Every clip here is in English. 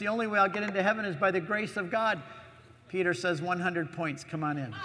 The only way I'll get into heaven is by the grace of God. Peter says, 100 points, come on in.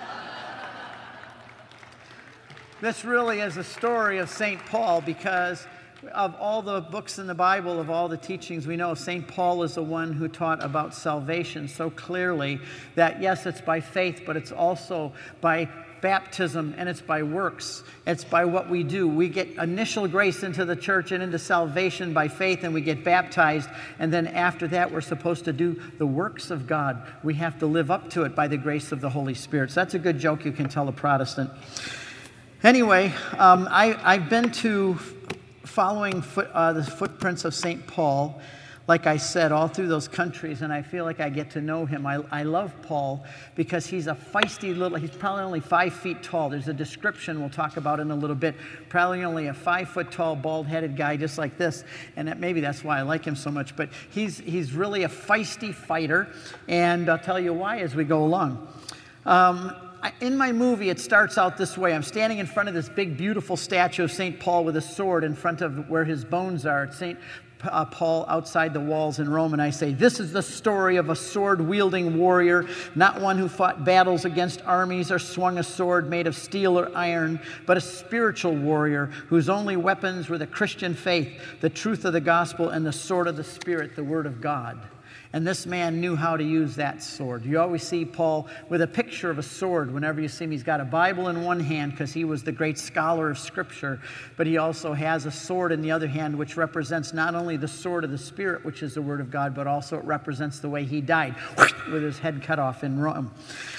This really is a story of St. Paul, because of all the books in the Bible, of all the teachings we know, St. Paul is the one who taught about salvation so clearly that, yes, it's by faith, but it's also by baptism, and it's by works. It's by what we do. We get initial grace into the church and into salvation by faith, and we get baptized, and then after that we're supposed to do the works of God. We have to live up to it by the grace of the Holy Spirit. So that's a good joke you can tell a Protestant. Anyway, I've been to following the footprints of St. Paul, like I said, all through those countries, and I feel like I get to know him. I love Paul because he's a feisty he's probably only 5 feet tall. There's a description we'll talk about in a little bit. Probably only a 5 foot tall, bald-headed guy just like this, and maybe that's why I like him so much. But he's really a feisty fighter, and I'll tell you why as we go along. In my movie, it starts out this way. I'm standing in front of this big, beautiful statue of St. Paul with a sword in front of where his bones are. It's St. Paul outside the walls in Rome, and I say, this is the story of a sword-wielding warrior, not one who fought battles against armies or swung a sword made of steel or iron, but a spiritual warrior whose only weapons were the Christian faith, the truth of the gospel, and the sword of the Spirit, the word of God. And this man knew how to use that sword. You always see Paul with a picture of a sword. Whenever you see him, he's got a Bible in one hand because he was the great scholar of Scripture, but he also has a sword in the other hand, which represents not only the sword of the Spirit, which is the Word of God, but also it represents the way he died, with his head cut off in Rome.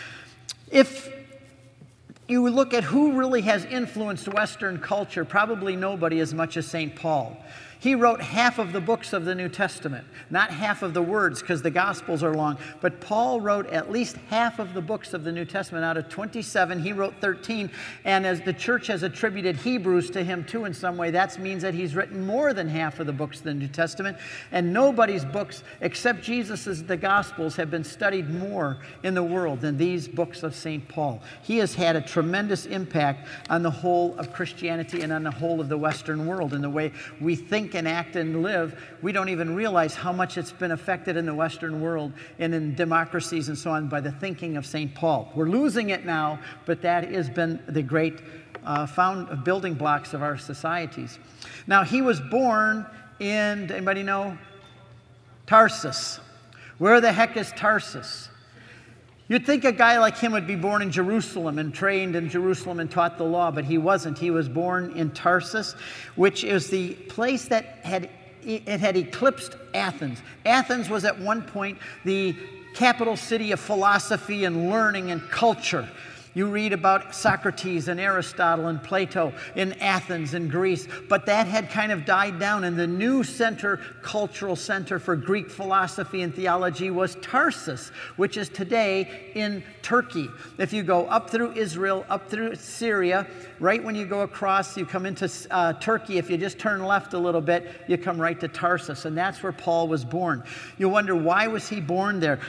If you look at who really has influenced Western culture, probably nobody as much as St. Paul. He wrote half of the books of the New Testament, not half of the words because the Gospels are long, but Paul wrote at least half of the books of the New Testament. Out of 27, he wrote 13, and as the church has attributed Hebrews to him too in some way, that means that he's written more than half of the books of the New Testament, and nobody's books except Jesus's, the Gospels, have been studied more in the world than these books of St. Paul. He has had a tremendous impact on the whole of Christianity and on the whole of the Western world in the way we think and act and live. We don't even realize how much it's been affected in the Western world and in democracies and so on by the thinking of St. Paul. We're losing it now, but that has been the great building blocks of our societies. Now, he was born in, anybody know? Tarsus. Where the heck is Tarsus? You'd think a guy like him would be born in Jerusalem and trained in Jerusalem and taught the law, but he wasn't. He was born in Tarsus, which is the place that had eclipsed Athens. Athens was at one point the capital city of philosophy and learning and culture. You read about Socrates and Aristotle and Plato in Athens and Greece, but that had kind of died down, and the new cultural center for Greek philosophy and theology was Tarsus, which is today in Turkey. If you go up through Israel, up through Syria, right when you go across, you come into Turkey. If you just turn left a little bit, you come right to Tarsus, and that's where Paul was born. You wonder, why was he born there?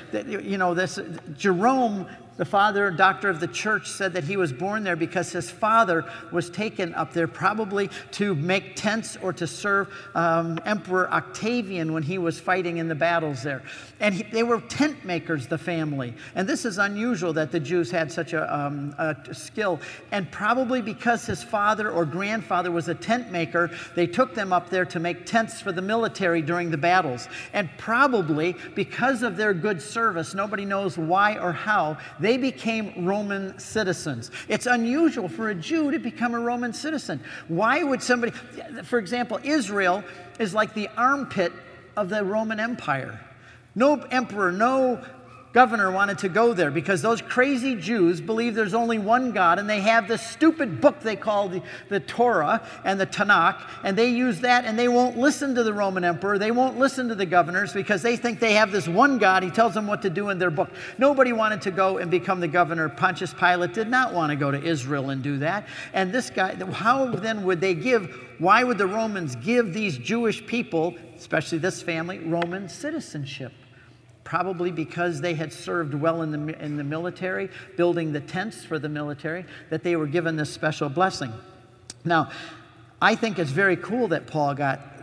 Jerome, the father, doctor of the church, said that he was born there because his father was taken up there probably to make tents or to serve Emperor Octavian when he was fighting in the battles there. And they were tent makers, the family. And this is unusual that the Jews had such a skill. And probably because his father or grandfather was a tent maker, they took them up there to make tents for the military during the battles. And probably because of their good service, nobody knows why or how, they became Roman citizens. It's unusual for a Jew to become a Roman citizen. Why would somebody, for example, Israel is like the armpit of the Roman Empire. No emperor, no governor wanted to go there because those crazy Jews believe there's only one God, and they have this stupid book they call the Torah and the Tanakh, and they use that, and they won't listen to the Roman emperor. They won't listen to the governors because they think they have this one God. He tells them what to do in their book. Nobody wanted to go and become the governor. Pontius Pilate did not want to go to Israel and do that. And this guy, how then would they why would the Romans give these Jewish people, especially this family, Roman citizenship? Probably because they had served well in the military, building the tents for the military, that they were given this special blessing. Now, I think it's very cool that Paul got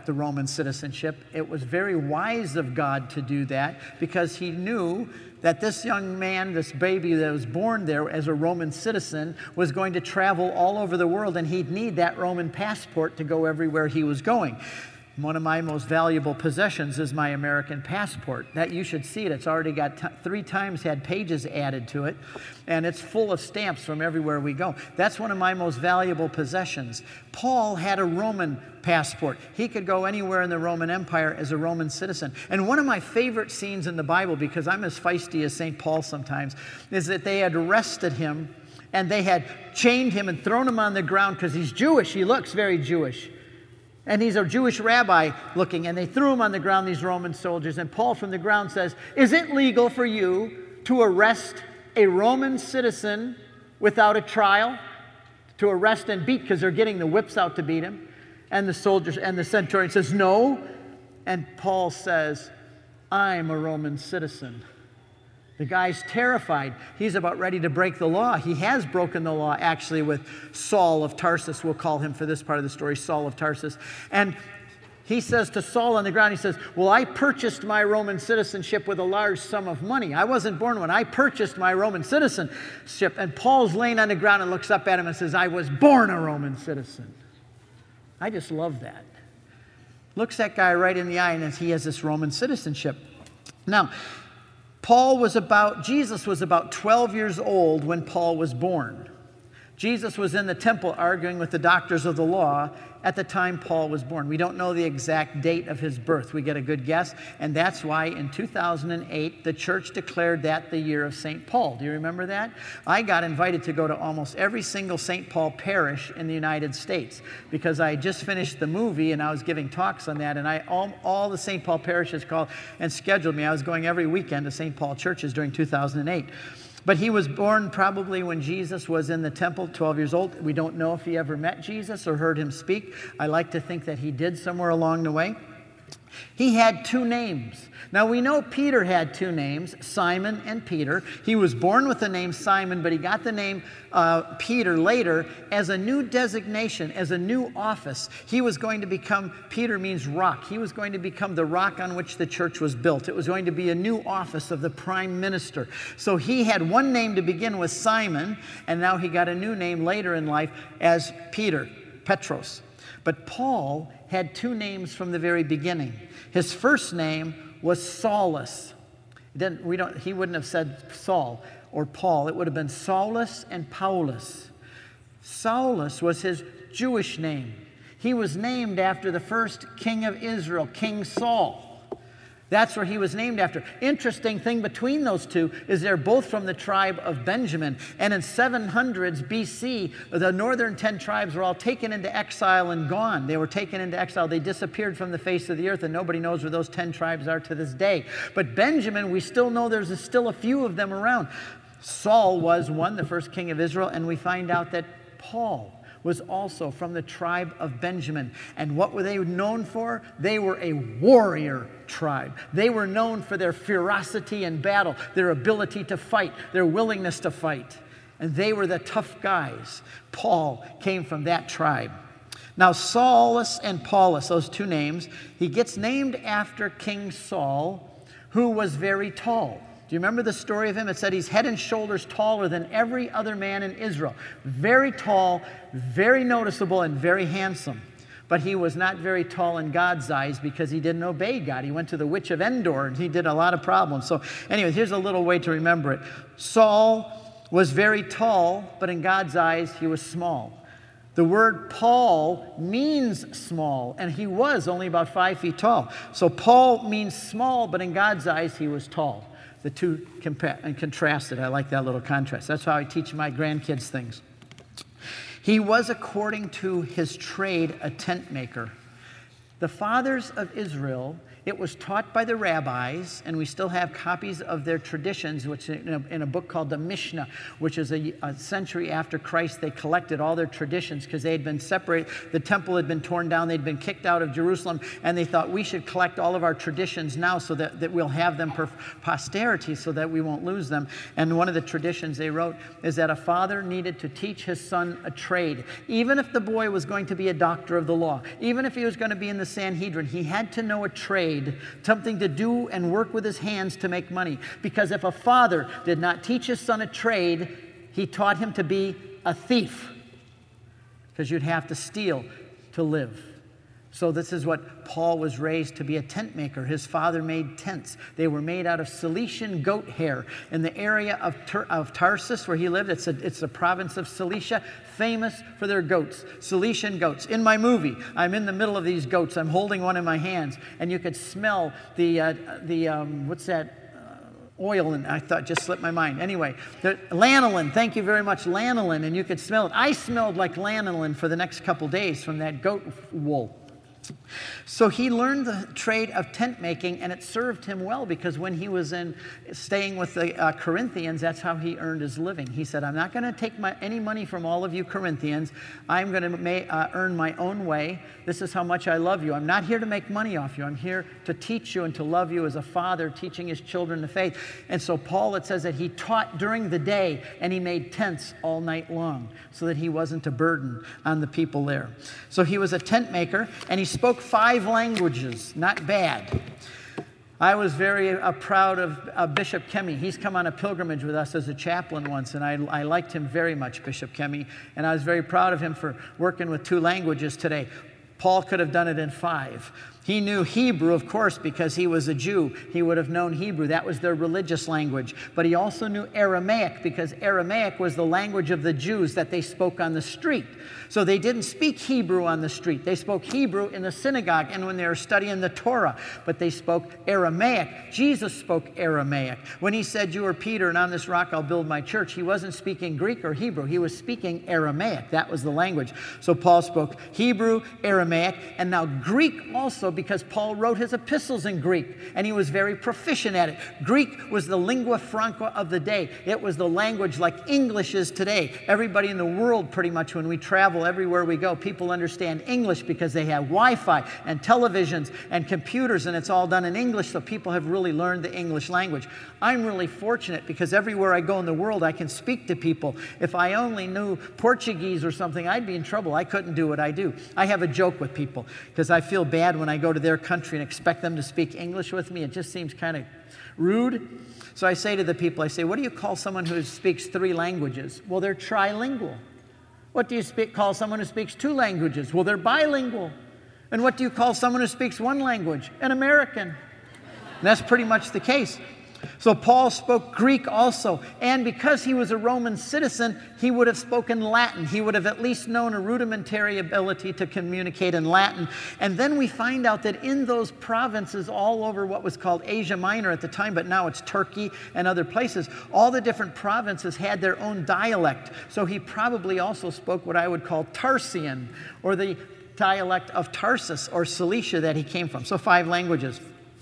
the Roman citizenship. It was very wise of God to do that because he knew that this young man, this baby that was born there as a Roman citizen, was going to travel all over the world, and he'd need that Roman passport to go everywhere he was going. One of my most valuable possessions is my American passport. That you should see it. It's already got 3 times had pages added to it, and it's full of stamps from everywhere we go. That's one of my most valuable possessions. Paul had a Roman passport. He could go anywhere in the Roman Empire as a Roman citizen. And one of my favorite scenes in the Bible, because I'm as feisty as St. Paul sometimes, is that they had arrested him, and they had chained him and thrown him on the ground because he's Jewish. He looks very Jewish. And he's a Jewish rabbi looking, and they threw him on the ground, these Roman soldiers. And Paul from the ground says, "Is it legal for you to arrest a Roman citizen without a trial?" To arrest and beat, because they're getting the whips out to beat him. And the soldiers and the centurion says, "No." And Paul says, "I'm a Roman citizen." The guy's terrified. He's about ready to break the law. He has broken the law, actually, with Saul of Tarsus. We'll call him for this part of the story, Saul of Tarsus. And he says to Saul on the ground, he says, "Well, I purchased my Roman citizenship with a large sum of money. I wasn't born one. I purchased my Roman citizenship." And Paul's laying on the ground and looks up at him and says, "I was born a Roman citizen." I just love that. Looks that guy right in the eye, and he has this Roman citizenship. Now, Jesus was about 12 years old when Paul was born. Jesus was in the temple arguing with the doctors of the law at the time Paul was born. We don't know the exact date of his birth. We get a good guess, and that's why in 2008 the church declared that the year of St. Paul. Do you remember that? I got invited to go to almost every single St. Paul parish in the United States because I just finished the movie and I was giving talks on that, and all the St. Paul parishes called and scheduled me. I was going every weekend to St. Paul churches during 2008. But he was born probably when Jesus was in the temple, 12 years old. We don't know if he ever met Jesus or heard him speak. I like to think that he did somewhere along the way. He had 2 names. Now, we know Peter had 2 names, Simon and Peter. He was born with the name Simon, but he got the name Peter later as a new designation, as a new office. He was going to become, Peter means rock. He was going to become the rock on which the church was built. It was going to be a new office of the prime minister. So he had one name to begin with, Simon, and now he got a new name later in life as Peter, Petros. But Paul had 2 names from the very beginning. His first name was Saulus. He wouldn't have said Saul or Paul. It would have been Saulus and Paulus. Saulus was his Jewish name. He was named after the first king of Israel, King Saul. That's where he was named after. Interesting thing between those 2 is they're both from the tribe of Benjamin. And in 700s BC, the northern 10 tribes were all taken into exile and gone. They were taken into exile. They disappeared from the face of the earth, and nobody knows where those 10 tribes are to this day. But Benjamin, we still know there's still a few of them around. Saul was one, the first king of Israel, and we find out that Paul was also from the tribe of Benjamin. And what were they known for? They were a warrior tribe. They were known for their ferocity in battle, their ability to fight, their willingness to fight. And they were the tough guys. Paul came from that tribe. Now, Saulus and Paulus, those 2 names, he gets named after King Saul, who was very tall. Do you remember the story of him? It said he's head and shoulders taller than every other man in Israel. Very tall, very noticeable, and very handsome. But he was not very tall in God's eyes because he didn't obey God. He went to the witch of Endor, and he did a lot of problems. So anyway, here's a little way to remember it. Saul was very tall, but in God's eyes, he was small. The word Paul means small, and he was only about 5 feet tall. So Paul means small, but in God's eyes, he was tall. The 2 contrasted. I like that little contrast. That's how I teach my grandkids things. He was, according to his trade, a tent maker. The fathers of Israel It was taught by the rabbis, and we still have copies of their traditions, which in a book called the Mishnah, which is a century after Christ. They collected all their traditions because they had been separated. The temple had been torn down. They'd been kicked out of Jerusalem, and they thought we should collect all of our traditions now so that we'll have them for posterity so that we won't lose them. And one of the traditions they wrote is that a father needed to teach his son a trade. Even if the boy was going to be a doctor of the law, even if he was going to be in the Sanhedrin, he had to know a trade, something to do and work with his hands to make money. Because if a father did not teach his son a trade, he taught him to be a thief. Because you'd have to steal to live. So this is what Paul was raised to be, a tent maker. His father made tents. They were made out of Cilician goat hair. In the area of Tarsus where he lived, it's the province of Cilicia, famous for their goats, Cilician goats. In my movie, I'm in the middle of these goats. I'm holding one in my hands, and you could smell the what's that? Oil, and I thought, just slipped my mind. Anyway, the lanolin, thank you very much, lanolin, and you could smell it. I smelled like lanolin for the next couple days from that goat wool. So he learned the trade of tent making, and it served him well because when he was staying with the Corinthians, that's how he earned his living. He said, I'm not going to take any money from all of you Corinthians. I'm going to earn my own way. This is how much I love you. I'm not here to make money off you. I'm here to teach you and to love you as a father teaching his children the faith. And so Paul, it says that he taught during the day, and he made tents all night long so that he wasn't a burden on the people there. So he was a tent maker, and he spoke 5 languages. Not bad. I was very proud of Bishop Kemi. He's come on a pilgrimage with us as a chaplain once, and I liked him very much, Bishop Kemi, and I was very proud of him for working with 2 languages today. Paul could have done it in 5. He knew Hebrew, of course, because he was a Jew. He would have known Hebrew. That was their religious language. But he also knew Aramaic, because Aramaic was the language of the Jews that they spoke on the street. So they didn't speak Hebrew on the street. They spoke Hebrew in the synagogue and when they were studying the Torah. But they spoke Aramaic. Jesus spoke Aramaic. When he said, you are Peter, and on this rock I'll build my church, he wasn't speaking Greek or Hebrew. He was speaking Aramaic. That was the language. So Paul spoke Hebrew, Aramaic, and now Greek also, because Paul wrote his epistles in Greek, and he was very proficient at it. Greek was the lingua franca of the day. It was the language like English is today. Everybody in the world, pretty much, when we travel everywhere we go, people understand English because they have Wi-Fi and televisions and computers, and it's all done in English, so people have really learned the English language. I'm really fortunate because everywhere I go in the world, I can speak to people. If I only knew Portuguese or something, I'd be in trouble. I couldn't do what I do. I have a joke with people because I feel bad when I go to their country and expect them to speak English with me. It just seems kind of rude. So I say to the people, I say, what do you call someone who speaks 3 languages? Well, they're trilingual. What do you call someone who speaks 2 languages? Well, they're bilingual. And what do you call someone who speaks 1 language? An American. And that's pretty much the case. So Paul spoke Greek also, and because he was a Roman citizen, he would have spoken Latin. He would have at least known a rudimentary ability to communicate in Latin. And then we find out that in those provinces all over what was called Asia Minor at the time, but now it's Turkey and other places, all the different provinces had their own dialect. So he probably also spoke what I would call Tarsian, or the dialect of Tarsus or Cilicia that he came from. So 5 languages.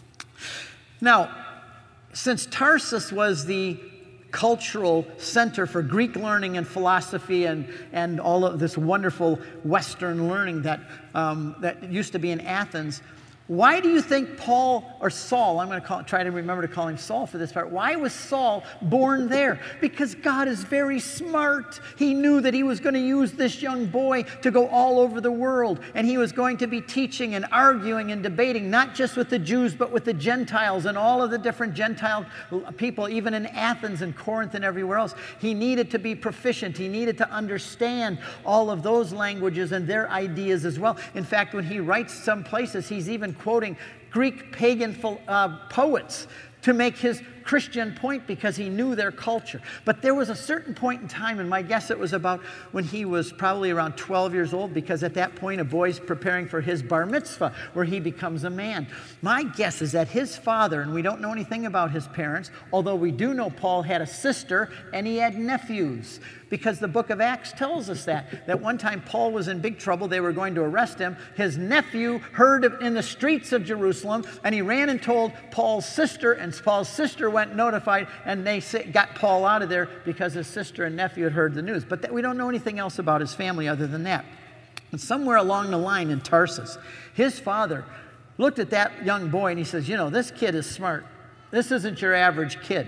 Now, since Tarsus was the cultural center for Greek learning and philosophy and all of this wonderful Western learning that used to be in Athens, why do you think Paul or Saul, I'm going to try to remember to call him Saul for this part, why was Saul born there? Because God is very smart. He knew that he was going to use this young boy to go all over the world, and he was going to be teaching and arguing and debating, not just with the Jews, but with the Gentiles and all of the different Gentile people, even in Athens and Corinth and everywhere else. He needed to be proficient. He needed to understand all of those languages and their ideas as well. In fact, when he writes some places, he's even quoting Greek pagan poets to make his Christian point because he knew their culture. But there was a certain point in time, and my guess it was about when he was probably around 12 years old, because at that point a boy's preparing for his bar mitzvah, where he becomes a man. My guess is that his father, and we don't know anything about his parents, although we do know Paul had a sister and he had nephews, because the book of Acts tells us that one time Paul was in big trouble. They were going to arrest him. His nephew heard in the streets of Jerusalem, and he ran and told Paul's sister, and Paul's sister went notified, and they got Paul out of there because his sister and nephew had heard the news. But we don't know anything else about his family other than that. And somewhere along the line in Tarsus, his father looked at that young boy and he says, you know, this kid is smart. This isn't your average kid.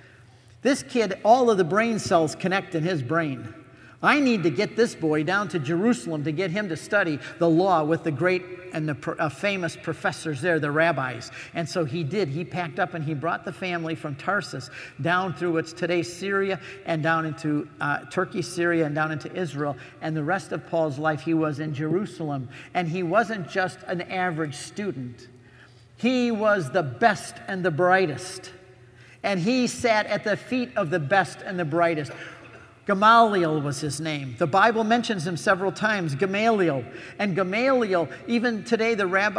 This kid, all of the brain cells connect in his brain. I need to get this boy down to Jerusalem to get him to study the law with the great and the famous professors there, the rabbis. And so he did. He packed up and he brought the family from Tarsus down through what's today Syria and down into Turkey, Syria, and down into Israel. And the rest of Paul's life, he was in Jerusalem. And he wasn't just an average student. He was the best and the brightest. And he sat at the feet of the best and the brightest. Gamaliel was his name. The Bible mentions him several times, Gamaliel. And Gamaliel, even today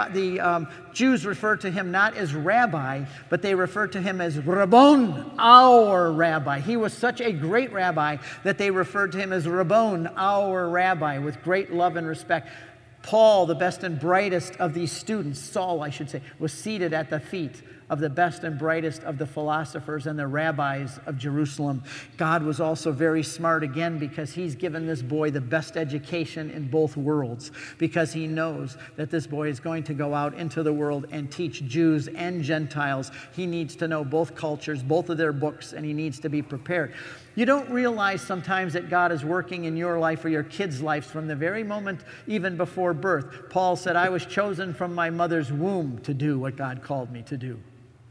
the Jews refer to him not as rabbi, but they refer to him as Rabbon, our rabbi. He was such a great rabbi that they referred to him as Rabbon, our rabbi, with great love and respect. Paul, the best and brightest of these students, Saul, I should say, was seated at the feet of the best and brightest of the philosophers and the rabbis of Jerusalem. God was also very smart again, because he's given this boy the best education in both worlds, because he knows that this boy is going to go out into the world and teach Jews and Gentiles. He needs to know both cultures, both of their books, and he needs to be prepared. You don't realize sometimes that God is working in your life or your kids' lives from the very moment, even before birth. Paul said, I was chosen from my mother's womb to do what God called me to do.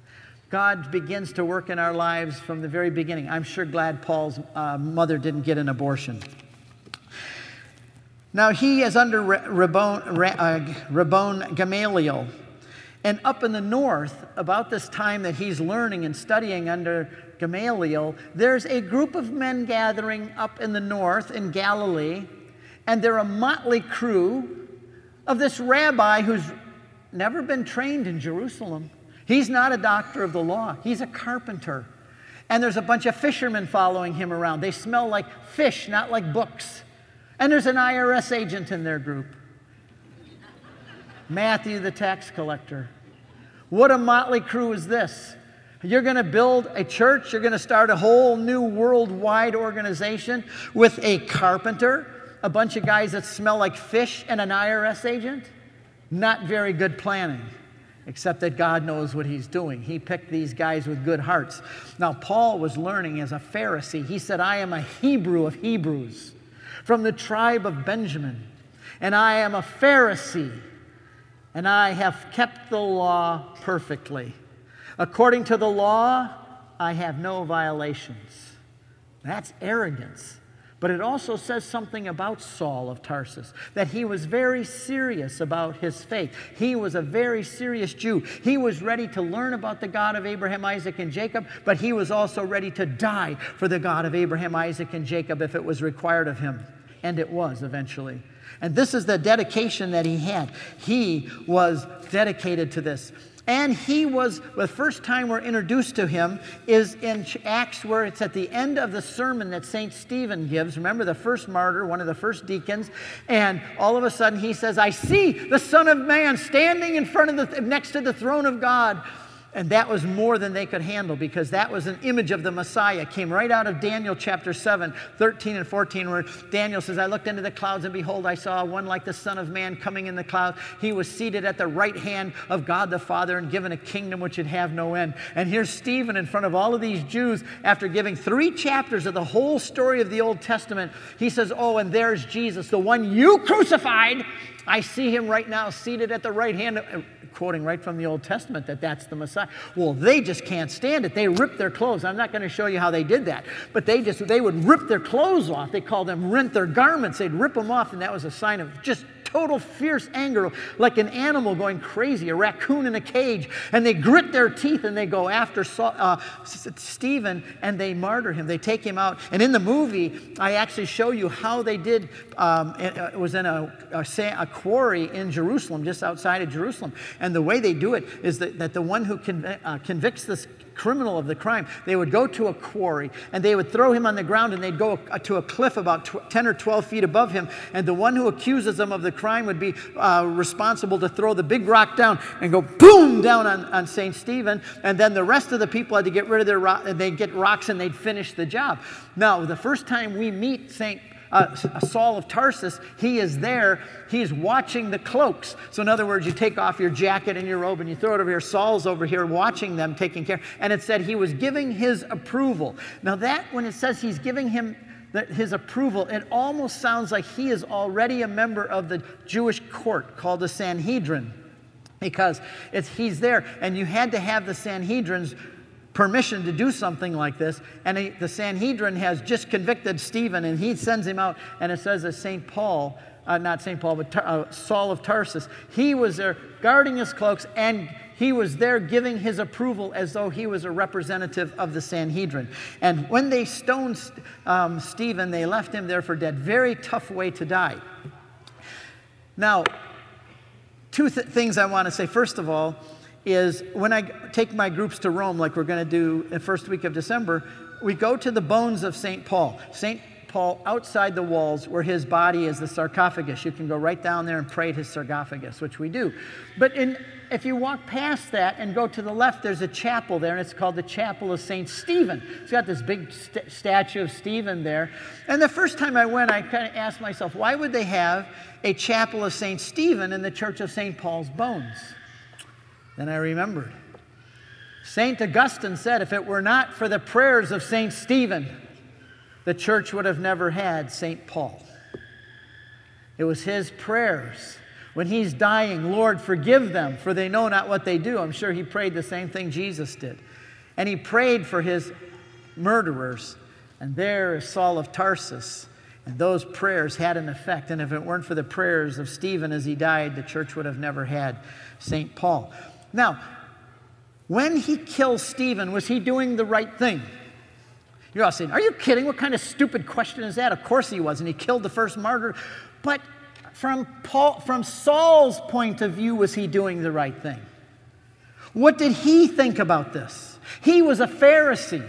God begins to work in our lives from the very beginning. I'm sure glad Paul's mother didn't get an abortion. Now he is under Rabbon Gamaliel. And up in the north, about this time that he's learning and studying under Gamaliel, there's a group of men gathering up in the north in Galilee, and they're a motley crew of this rabbi who's never been trained in Jerusalem. He's not a doctor of the law. He's a carpenter. And there's a bunch of fishermen following him around. They smell like fish, not like books. And there's an IRS agent in their group. Matthew, the tax collector. What a motley crew is this? You're going to build a church. You're going to start a whole new worldwide organization with a carpenter, a bunch of guys that smell like fish, and an IRS agent? Not very good planning. Except that God knows what he's doing. He picked these guys with good hearts. Now, Paul was learning as a Pharisee. He said, I am a Hebrew of Hebrews, from the tribe of Benjamin. And I am a Pharisee, and I have kept the law perfectly. According to the law, I have no violations. That's arrogance. But it also says something about Saul of Tarsus, that he was very serious about his faith. He was a very serious Jew. He was ready to learn about the God of Abraham, Isaac, and Jacob, but he was also ready to die for the God of Abraham, Isaac, and Jacob if it was required of him. And it was eventually. And this is the dedication that he had. He was dedicated to this. And he was, the first time we're introduced to him is in Acts, where it's at the end of the sermon that St. Stephen gives. Remember, the first martyr, one of the first deacons. And all of a sudden he says, I see the Son of Man standing in front of next to the throne of God. And that was more than they could handle, because that was an image of the Messiah. It came right out of Daniel chapter 7, 13 and 14, where Daniel says, I looked into the clouds, and behold, I saw one like the Son of Man coming in the cloud. He was seated at the right hand of God the Father and given a kingdom which would have no end. And here's Stephen in front of all of these Jews, after giving 3 chapters of the whole story of the Old Testament. He says, oh, and there's Jesus, the one you crucified. I see him right now seated at the right hand, quoting right from the Old Testament that that's the Messiah. Well, they just can't stand it. They rip their clothes. I'm not going to show you how they did that, but they would rip their clothes off. They called them rent their garments. They'd rip them off, and that was a sign of just total fierce anger, like an animal going crazy, a raccoon in a cage. And they grit their teeth and they go after Stephen and they martyr him. They take him out. And in the movie, I actually show you how they did. It was in a quarry in Jerusalem, just outside of Jerusalem. And the way they do it is that the one who convicts this criminal of the crime, they would go to a quarry and they would throw him on the ground and they'd go to a cliff about 10 or 12 feet above him, and the one who accuses them of the crime would be responsible to throw the big rock down and go boom down on St. Stephen, and then the rest of the people had to get rid of their rock, and they'd get rocks and they'd finish the job. Now, the first time we meet Saul of Tarsus, he is there. He's watching the cloaks. So in other words, you take off your jacket and your robe and you throw it over here. Saul's over here watching them, taking care. And it said he was giving his approval. Now that, when it says he's giving him his approval, it almost sounds like he is already a member of the Jewish court called the Sanhedrin, because he's there. And you had to have the Sanhedrin's permission to do something like this, and the Sanhedrin has just convicted Stephen, and he sends him out, and it says that Saul of Tarsus, he was there guarding his cloaks, and he was there giving his approval as though he was a representative of the Sanhedrin. And when they stoned Stephen, they left him there for dead. Very tough way to die. Now, two things I want to say. First of all, is when I take my groups to Rome, like we're going to do the first week of December, we go to the bones of St. Paul. St. Paul, outside the walls, where his body is the sarcophagus. You can go right down there and pray at his sarcophagus, which we do. But if you walk past that and go to the left, there's a chapel there, and it's called the Chapel of St. Stephen. It's got this big statue of Stephen there. And the first time I went, I kind of asked myself, why would they have a Chapel of St. Stephen in the Church of St. Paul's Bones? Then I remembered. St. Augustine said, if it were not for the prayers of St. Stephen, the church would have never had St. Paul. It was his prayers. When he's dying, Lord, forgive them, for they know not what they do. I'm sure he prayed the same thing Jesus did. And he prayed for his murderers. And there is Saul of Tarsus. And those prayers had an effect. And if it weren't for the prayers of Stephen as he died, the church would have never had St. Paul. Now, when he kills Stephen, was he doing the right thing? You're all saying, are you kidding? What kind of stupid question is that? Of course he was, and he killed the first martyr. But from Saul's point of view, was he doing the right thing? What did he think about this? He was a Pharisee.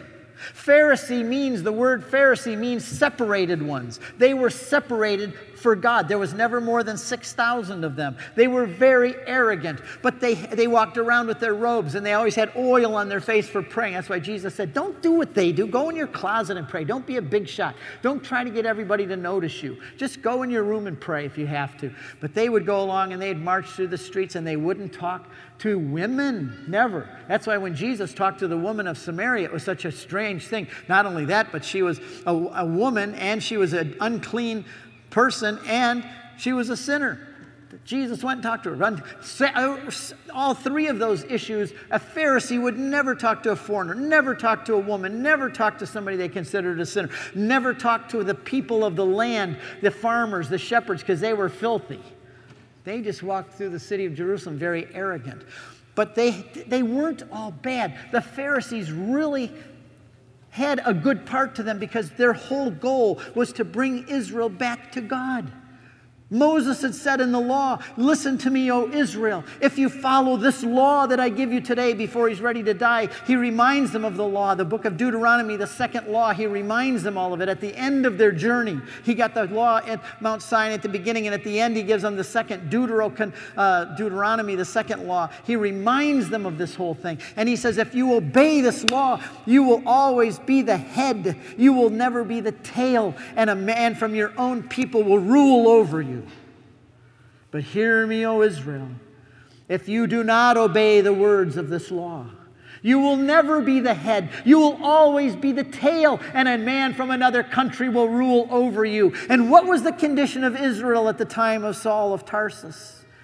The word Pharisee means separated ones. They were separated for God. There was never more than 6,000 of them. They were very arrogant, but they walked around with their robes, and they always had oil on their face for praying. That's why Jesus said, don't do what they do. Go in your closet and pray. Don't be a big shot. Don't try to get everybody to notice you. Just go in your room and pray if you have to. But they would go along and they'd march through the streets, and they wouldn't talk to women. Never. That's why when Jesus talked to the woman of Samaria, it was such a strange thing. Not only that, but she was a woman, and she was an unclean person, and she was a sinner. Jesus went and talked to her. All three of those issues, a Pharisee would never talk to a foreigner, never talk to a woman, never talk to somebody they considered a sinner, never talk to the people of the land, the farmers, the shepherds, because they were filthy. They just walked through the city of Jerusalem very arrogant. But they weren't all bad. The Pharisees really had a good part to them because their whole goal was to bring Israel back to God. Moses had said in the law, listen to me, O Israel. If you follow this law that I give you today before he's ready to die, he reminds them of the law. The book of Deuteronomy, the second law, he reminds them all of it. At the end of their journey, he got the law at Mount Sinai at the beginning, and at the end he gives them the second Deuteronomy, the second law. He reminds them of this whole thing. And he says, if you obey this law, you will always be the head. You will never be the tail, and a man from your own people will rule over you. But hear me, O Israel, if you do not obey the words of this law, you will never be the head. You will always be the tail, and a man from another country will rule over you. And what was the condition of Israel at the time of Saul of Tarsus?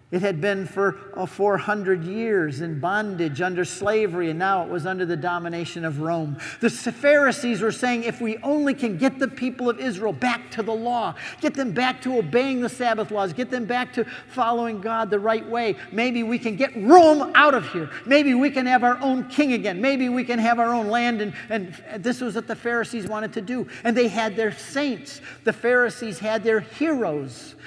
It had been for 400 years in bondage under slavery, and now it was under the domination of Rome. The Pharisees were saying, if we only can get the people of Israel back to the law, get them back to obeying the Sabbath laws, get them back to following God the right way, maybe we can get Rome out of here. Maybe we can have our own king again. Maybe we can have our own land. And this was what the Pharisees wanted to do. And they had their saints. The Pharisees had their heroes.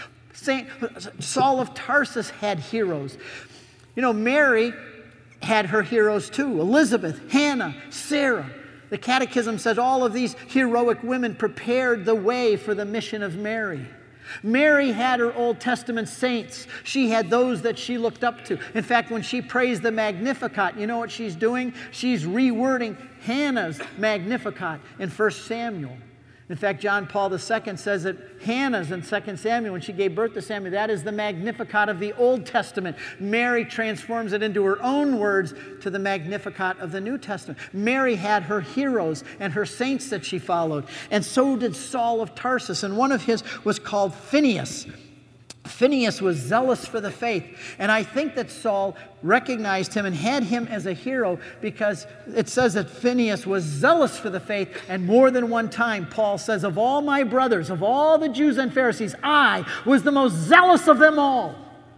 Saul of Tarsus had heroes. You know, Mary had her heroes too. Elizabeth, Hannah, Sarah. The Catechism says all of these heroic women prepared the way for the mission of Mary. Mary had her Old Testament saints. She had those that she looked up to. In fact, when she prays the Magnificat, you know what she's doing? She's rewording Hannah's Magnificat in 1 Samuel. In fact, John Paul II says that Hannah's in 2 Samuel, when she gave birth to Samuel, that is the Magnificat of the Old Testament. Mary transforms it into her own words to the Magnificat of the New Testament. Mary had her heroes and her saints that she followed. And so did Saul of Tarsus. And one of his was called Phinehas. Phinehas was zealous for the faith. And I think that Saul recognized him and had him as a hero because it says that Phinehas was zealous for the faith. And more than one time, Paul says, of all my brothers, of all the Jews and Pharisees, I was the most zealous of them all.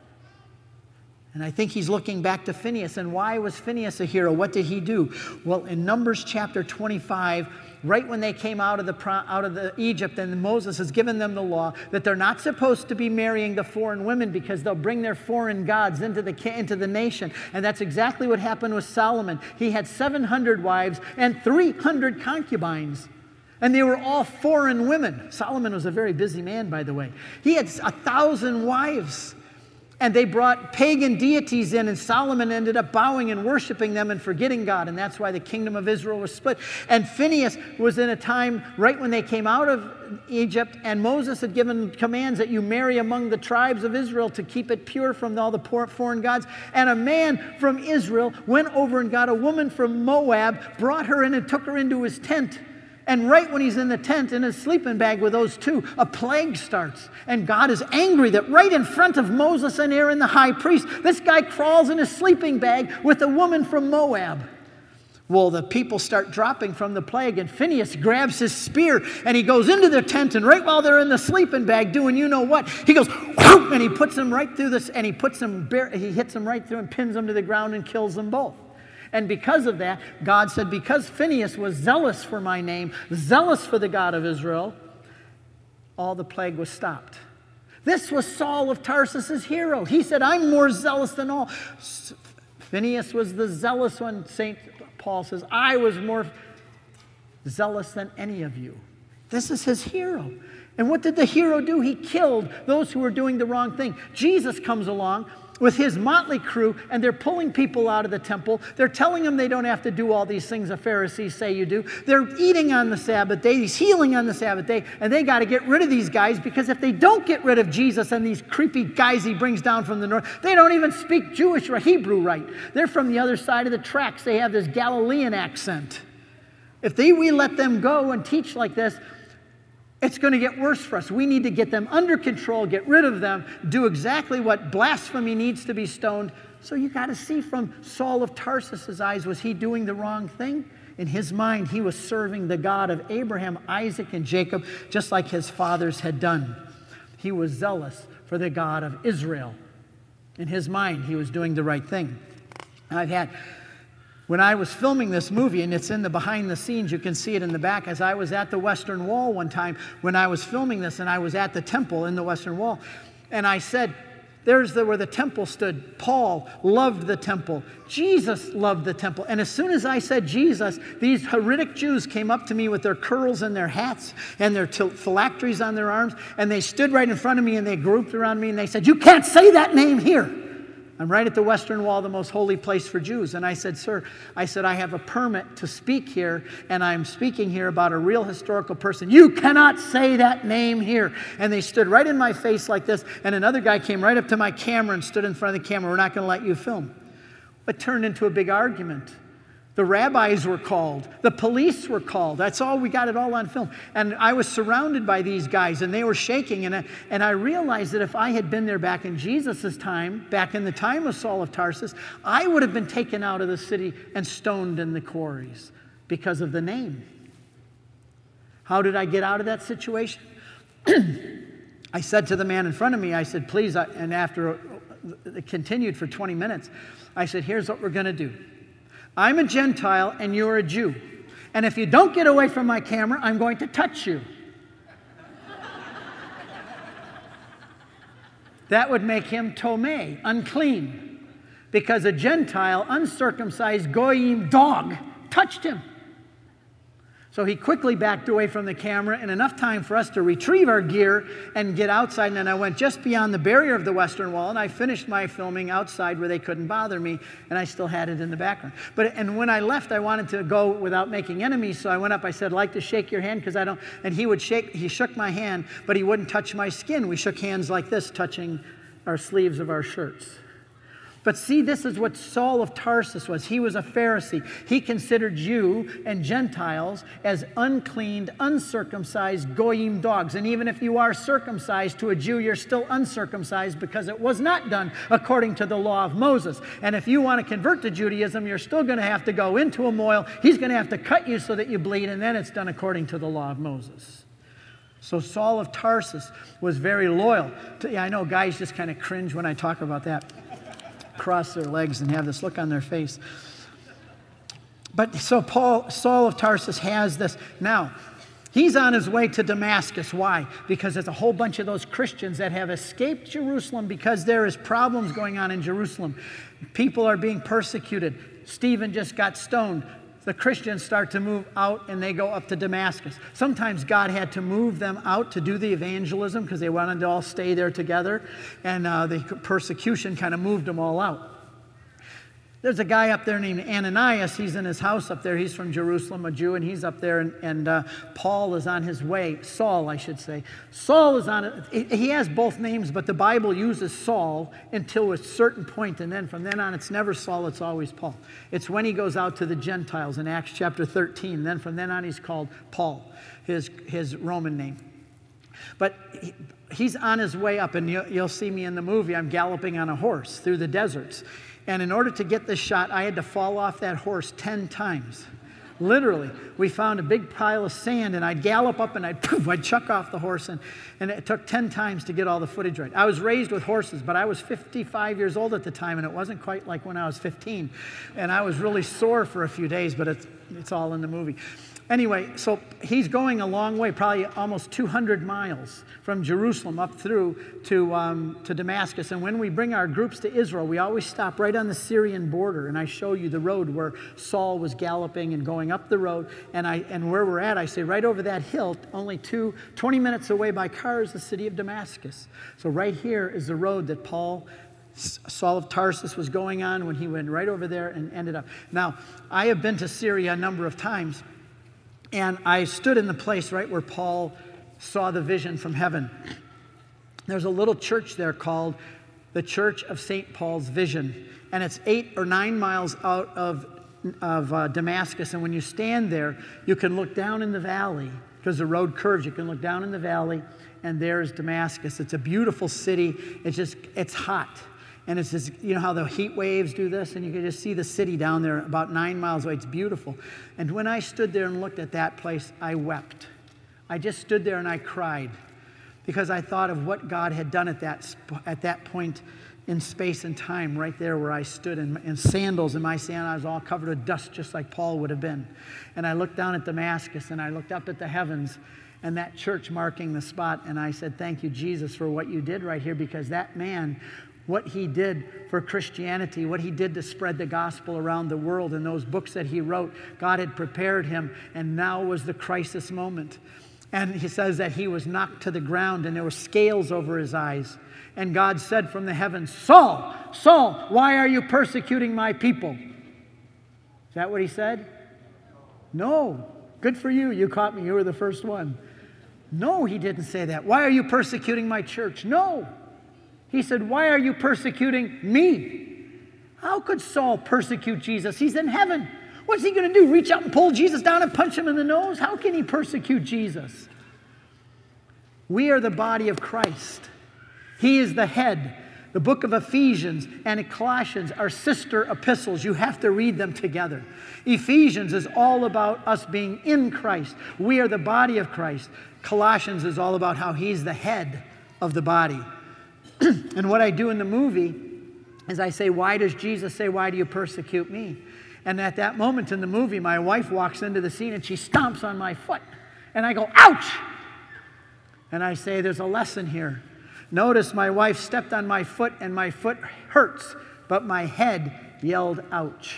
And I think he's looking back to Phinehas. And why was Phinehas a hero? What did he do? Well, in Numbers chapter 25, right when they came out of the Egypt, and Moses has given them the law that they're not supposed to be marrying the foreign women because they'll bring their foreign gods into the nation. And that's exactly what happened with Solomon. He had 700 wives and 300 concubines. And they were all foreign women. Solomon was a very busy man, by the way. He had 1,000 wives. And they brought pagan deities in, and Solomon ended up bowing and worshiping them and forgetting God. And that's why the kingdom of Israel was split. And Phinehas was in a time right when they came out of Egypt, and Moses had given commands that you marry among the tribes of Israel to keep it pure from all the foreign gods. And a man from Israel went over and got a woman from Moab, brought her in and took her into his tent. And right when he's in the tent in his sleeping bag with those two, a plague starts. And God is angry that right in front of Moses and Aaron, the high priest, this guy crawls in his sleeping bag with a woman from Moab. Well, the people start dropping from the plague, and Phinehas grabs his spear, and he goes into their tent, and right while they're in the sleeping bag doing you know what, he goes, whoop, and he puts them right through this, and he hits them right through and pins them to the ground and kills them both. And because of that, God said, because Phinehas was zealous for my name, zealous for the God of Israel, all the plague was stopped. This was Saul of Tarsus' hero. He said, I'm more zealous than all. Phinehas was the zealous one. St. Paul says, I was more zealous than any of you. This is his hero. And what did the hero do? He killed those who were doing the wrong thing. Jesus comes along with his motley crew, and they're pulling people out of the temple. They're telling them they don't have to do all these things the Pharisees say you do. They're eating on the Sabbath day. He's healing on the Sabbath day, and they got to get rid of these guys because if they don't get rid of Jesus and these creepy guys he brings down from the north, they don't even speak Jewish or Hebrew right. They're from the other side of the tracks. They have this Galilean accent. If we let them go and teach like this, it's going to get worse for us. We need to get them under control, get rid of them, do exactly what blasphemy needs to be stoned. So you got to see from Saul of Tarsus' eyes, was he doing the wrong thing? In his mind, he was serving the God of Abraham, Isaac, and Jacob, just like his fathers had done. He was zealous for the God of Israel. In his mind, he was doing the right thing. When I was filming this movie, and it's in the behind the scenes, you can see it in the back, as I was at the Western Wall one time when I was filming this, and I was at the temple in the Western Wall, and I said, there's where the temple stood. Paul loved the temple. Jesus loved the temple. And as soon as I said Jesus, these heretic Jews came up to me with their curls and their hats and their phylacteries on their arms, and they stood right in front of me, and they grouped around me, and they said, you can't say that name here. I'm right at the Western Wall, the most holy place for Jews. And I said, sir, I have a permit to speak here, and I'm speaking here about a real historical person. You cannot say that name here. And they stood right in my face like this, and another guy came right up to my camera and stood in front of the camera. We're not going to let you film. It turned into a big argument. The rabbis were called. The police were called. That's all, we got it all on film. And I was surrounded by these guys, and they were shaking. And I realized that if I had been there back in Jesus' time, back in the time of Saul of Tarsus, I would have been taken out of the city and stoned in the quarries because of the name. How did I get out of that situation? I said to the man in front of me, I said, please, and after it continued for 20 minutes, I said, here's what we're going to do. I'm a Gentile and you're a Jew. And if you don't get away from my camera, I'm going to touch you. That would make him tomei, unclean, because a Gentile, uncircumcised goyim dog touched him. So he quickly backed away from the camera, and enough time for us to retrieve our gear and get outside. And then I went just beyond the barrier of the Western Wall, and I finished my filming outside where they couldn't bother me, and I still had it in the background. And when I left, I wanted to go without making enemies, so I went up. I said, I'd like to shake your hand, because I don't. And he shook my hand, but he wouldn't touch my skin. We shook hands like this, touching our sleeves of our shirts. But see, this is what Saul of Tarsus was. He was a Pharisee. He considered Jew and Gentiles as uncleaned, uncircumcised goyim dogs. And even if you are circumcised to a Jew, you're still uncircumcised because it was not done according to the law of Moses. And if you want to convert to Judaism, you're still going to have to go into a mohel. He's going to have to cut you so that you bleed, and then it's done according to the law of Moses. So Saul of Tarsus was very loyal. I know guys just kind of cringe when I talk about that. Cross their legs and have this look on their face. But so Saul of Tarsus has this. Now, he's on his way to Damascus. Why? Because there's a whole bunch of those Christians that have escaped Jerusalem because there is problems going on in Jerusalem. People are being persecuted. Stephen just got stoned. The Christians start to move out, and they go up to Damascus. Sometimes God had to move them out to do the evangelism because they wanted to all stay there together, and the persecution kind of moved them all out. There's a guy up there named Ananias. He's in his house up there. He's from Jerusalem, a Jew, and he's up there, and Paul is on his way. Saul, I should say. Saul is on it. He has both names, but the Bible uses Saul until a certain point, and then from then on, it's never Saul, it's always Paul. It's when he goes out to the Gentiles in Acts chapter 13. Then from then on, he's called Paul, his Roman name. But he's on his way up, and you'll see me in the movie. I'm galloping on a horse through the deserts. And in order to get this shot, I had to fall off that horse 10 times. Literally. We found a big pile of sand, and I'd gallop up, and I'd chuck off the horse, and it took 10 times to get all the footage right. I was raised with horses, but I was 55 years old at the time, and it wasn't quite like when I was 15. And I was really sore for a few days, but it's all in the movie. Anyway, so he's going a long way, probably almost 200 miles from Jerusalem up through to Damascus. And when we bring our groups to Israel, we always stop right on the Syrian border, and I show you the road where Saul was galloping and going up the road. And where we're at, I say right over that hill, only 20 minutes away by car is the city of Damascus. So right here is the road that Saul of Tarsus was going on when he went right over there and ended up. Now, I have been to Syria a number of times. And I stood in the place right where Paul saw the vision from heaven. There's a little church there called the Church of St. Paul's Vision. And it's 8 or 9 miles out of Damascus. And when you stand there, you can look down in the valley because the road curves. You can look down in the valley, and there's Damascus. It's a beautiful city. It's hot. And it's just, you know how the heat waves do this? And you can just see the city down there about 9 miles away. It's beautiful. And when I stood there and looked at that place, I wept. I just stood there and I cried because I thought of what God had done at that point in space and time, right there where I stood in sandals. And my sandals, I was all covered with dust just like Paul would have been. And I looked down at Damascus and I looked up at the heavens and that church marking the spot. And I said, thank you, Jesus, for what you did right here, because that man, what he did for Christianity, what he did to spread the gospel around the world, and those books that he wrote, God had prepared him, and now was the crisis moment. And he says that he was knocked to the ground, and there were scales over his eyes. And God said from the heavens, Saul, Saul, why are you persecuting my people? Is that what he said? No. Good for you. You caught me. You were the first one. No, he didn't say that. Why are you persecuting my church? No. He said, why are you persecuting me? How could Saul persecute Jesus? He's in heaven. What's he going to do? Reach out and pull Jesus down and punch him in the nose? How can he persecute Jesus? We are the body of Christ. He is the head. The book of Ephesians and Colossians are sister epistles. You have to read them together. Ephesians is all about us being in Christ. We are the body of Christ. Colossians is all about how he's the head of the body. And what I do in the movie is I say, why does Jesus say, why do you persecute me? And at that moment in the movie, my wife walks into the scene and she stomps on my foot. And I go, ouch! And I say, there's a lesson here. Notice my wife stepped on my foot and my foot hurts, but my head yelled, ouch.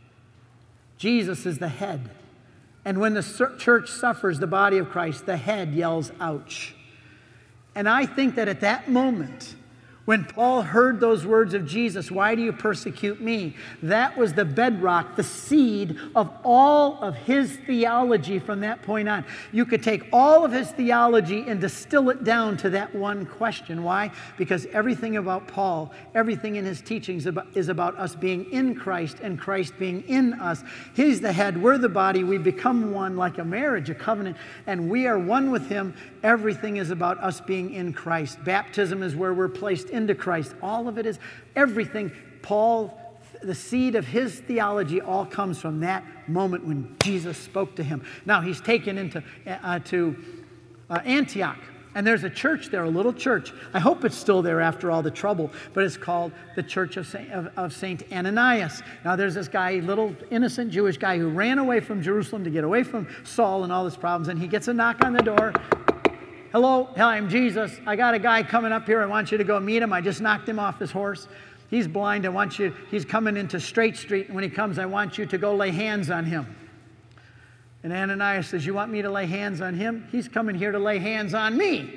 Jesus is the head. And when the church suffers, the body of Christ, the head yells, ouch. And I think that at that moment, when Paul heard those words of Jesus, why do you persecute me? That was the bedrock, the seed of all of his theology from that point on. You could take all of his theology and distill it down to that one question. Why? Because everything about Paul, everything in his teachings is about us being in Christ and Christ being in us. He's the head, we're the body, we become one like a marriage, a covenant, and we are one with him. Everything is about us being in Christ. Baptism is where we're placed into Christ. All of it is everything. Paul, the seed of his theology all comes from that moment when Jesus spoke to him. Now he's taken into Antioch, and there's a church there, a little church. I hope it's still there after all the trouble, but it's called the Church of Saint Ananias. Now there's this guy, little innocent Jewish guy who ran away from Jerusalem to get away from Saul and all his problems, and he gets a knock on the door. Hello, I'm Jesus. I got a guy coming up here. I want you to go meet him. I just knocked him off his horse. He's blind. He's coming into Straight Street. And when he comes, I want you to go lay hands on him. And Ananias says, you want me to lay hands on him? He's coming here to lay hands on me.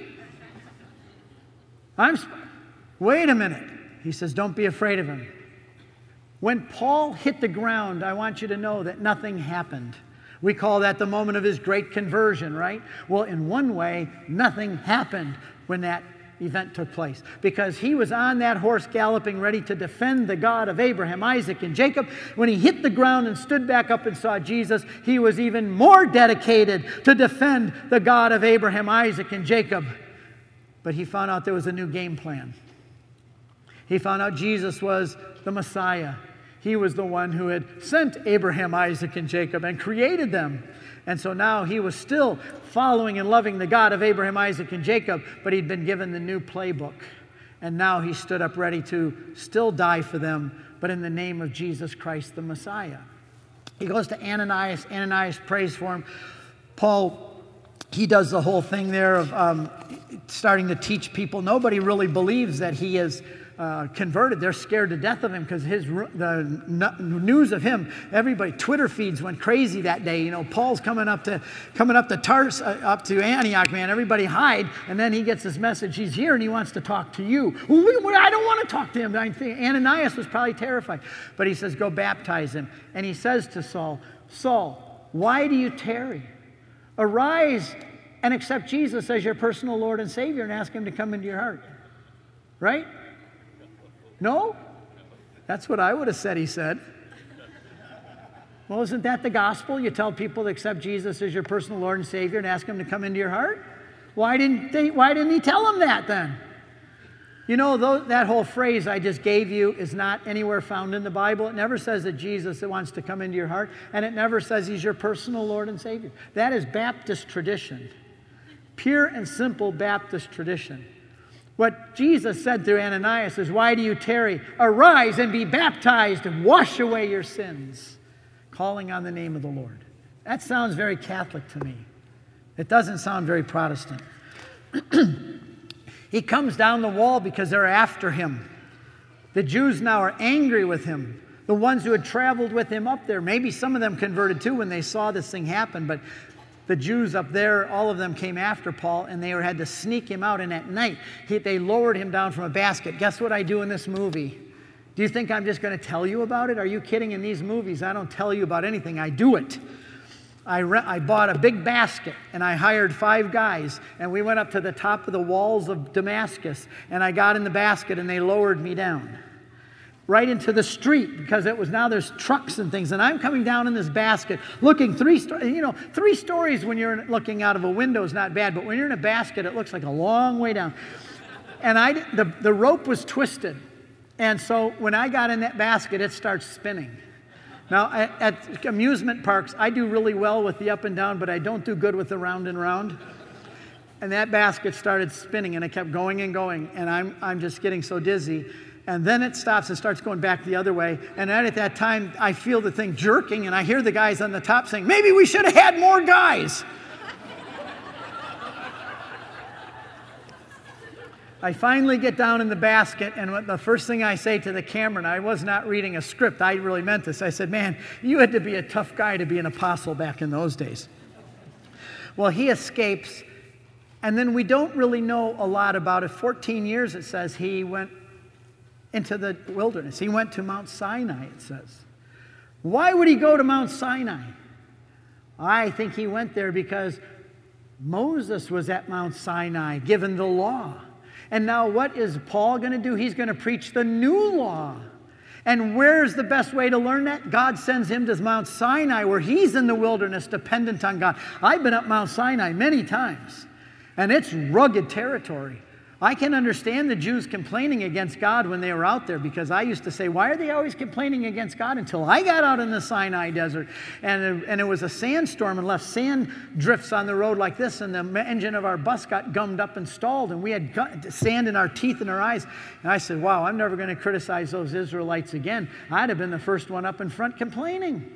Wait a minute. He says, don't be afraid of him. When Paul hit the ground, I want you to know that nothing happened. We call that the moment of his great conversion, right? Well, in one way, nothing happened when that event took place, because he was on that horse galloping, ready to defend the God of Abraham, Isaac, and Jacob. When he hit the ground and stood back up and saw Jesus, he was even more dedicated to defend the God of Abraham, Isaac, and Jacob. But he found out there was a new game plan. He found out Jesus was the Messiah. He was the one who had sent Abraham, Isaac, and Jacob and created them. And so now he was still following and loving the God of Abraham, Isaac, and Jacob, but he'd been given the new playbook. And now he stood up ready to still die for them, but in the name of Jesus Christ, the Messiah. He goes to Ananias. Ananias prays for him. Paul, he does the whole thing there of starting to teach people. Nobody really believes that he is converted. They're scared to death of him because the news of him, everybody, Twitter feeds went crazy that day. You know, Paul's coming up to Tarsus, up to Antioch, man. Everybody hide, and then he gets this message. He's here and he wants to talk to you. Well, I don't want to talk to him. I think Ananias was probably terrified, but he says, go baptize him. And he says to Saul, Saul, why do you tarry? Arise and accept Jesus as your personal Lord and Savior and ask him to come into your heart. Right? No? That's what I would have said, he said. Well, isn't that the gospel? You tell people to accept Jesus as your personal Lord and Savior and ask him to come into your heart? Why didn't he tell them that then? You know, that whole phrase I just gave you is not anywhere found in the Bible. It never says that Jesus wants to come into your heart, and it never says he's your personal Lord and Savior. That is Baptist tradition. Pure and simple Baptist tradition. What Jesus said to Ananias is, why do you tarry? Arise and be baptized and wash away your sins, calling on the name of the Lord. That sounds very Catholic to me. It doesn't sound very Protestant. He comes down the wall because they're after him. The Jews now are angry with him. The ones who had traveled with him up there, maybe some of them converted too when they saw this thing happen, but the Jews up there, all of them came after Paul, and they had to sneak him out. And at night, they lowered him down from a basket. Guess what I do in this movie? Do you think I'm just going to tell you about it? Are you kidding? In these movies, I don't tell you about anything. I do it. I bought a big basket, and I hired 5 guys, and we went up to the top of the walls of Damascus, and I got in the basket, and they lowered me down. right into the street because there's trucks and things. And I'm coming down in this basket looking 3 stories when you're looking out of a window is not bad, but when you're in a basket, it looks like a long way down. And the rope was twisted. And so when I got in that basket, it starts spinning. Now, at amusement parks, I do really well with the up and down, but I don't do good with the round and round. And that basket started spinning, and it kept going and going, and I'm just getting so dizzy. And then it stops and starts going back the other way. And right at that time, I feel the thing jerking, and I hear the guys on the top saying, maybe we should have had more guys. I finally get down in the basket, and the first thing I say to the camera, and I was not reading a script, I really meant this. I said, man, you had to be a tough guy to be an apostle back in those days. Well, he escapes, and then we don't really know a lot about it. 14 years, it says, he went into the wilderness. He went to Mount Sinai, it says. Why would he go to Mount Sinai? I think he went there because Moses was at Mount Sinai given the law. And now what is Paul going to do? He's going to preach the new law. And where's the best way to learn that? God sends him to Mount Sinai where he's in the wilderness dependent on God. I've been up Mount Sinai many times, and it's rugged territory. I can understand the Jews complaining against God when they were out there because I used to say, why are they always complaining against God? Until I got out in the Sinai desert and it was a sandstorm and left sand drifts on the road like this, and the engine of our bus got gummed up and stalled, and we had sand in our teeth and our eyes. And I said, wow, I'm never going to criticize those Israelites again. I'd have been the first one up in front complaining.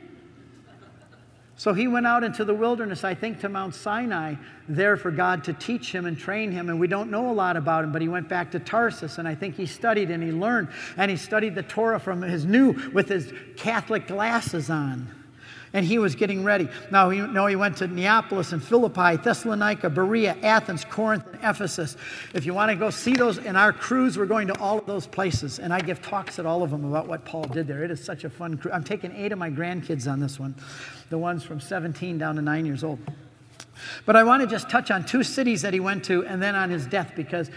So he went out into the wilderness, I think, to Mount Sinai, there for God to teach him and train him. And we don't know a lot about him, but he went back to Tarsus, and I think he studied and he learned. And he studied the Torah with his Catholic glasses on. And he was getting ready. Now, he went to Neapolis and Philippi, Thessalonica, Berea, Athens, Corinth, and Ephesus. If you want to go see those, in our cruise, we're going to all of those places. And I give talks at all of them about what Paul did there. It is such a fun cruise. I'm taking 8 of my grandkids on this one, the ones from 17 down to 9 years old. But I want to just touch on 2 cities that he went to and then on his death, because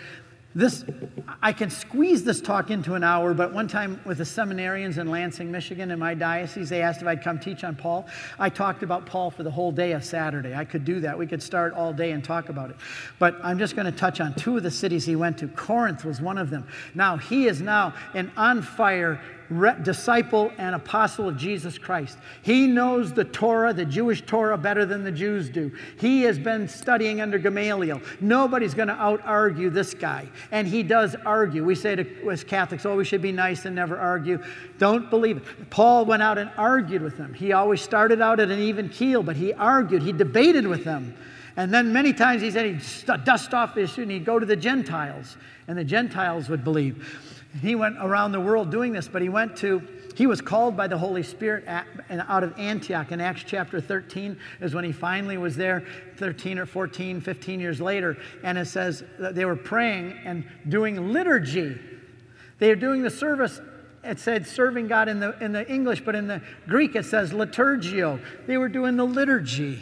I can squeeze this talk into an hour, but one time with the seminarians in Lansing, Michigan, in my diocese, they asked if I'd come teach on Paul. I talked about Paul for the whole day of Saturday. I could do that. We could start all day and talk about it. But I'm just going to touch on 2 of the cities he went to. Corinth was one of them. Now, he is now an on-fire disciple and apostle of Jesus Christ. He knows the Torah, the Jewish Torah, better than the Jews do. He has been studying under Gamaliel. Nobody's going to out-argue this guy. And he does argue. We say to us Catholics, we should be nice and never argue. Don't believe it. Paul went out and argued with them. He always started out at an even keel, but he argued. He debated with them. And then many times he said he'd dust off the issue and he'd go to the Gentiles, and the Gentiles would believe. He went around the world doing this, but he was called by the Holy Spirit out of Antioch. In Acts chapter 13 is when he finally was there, 13 or 14, 15 years later. And it says that they were praying and doing liturgy. They were doing the service. It said serving God in the English, but in the Greek it says liturgio. They were doing the liturgy.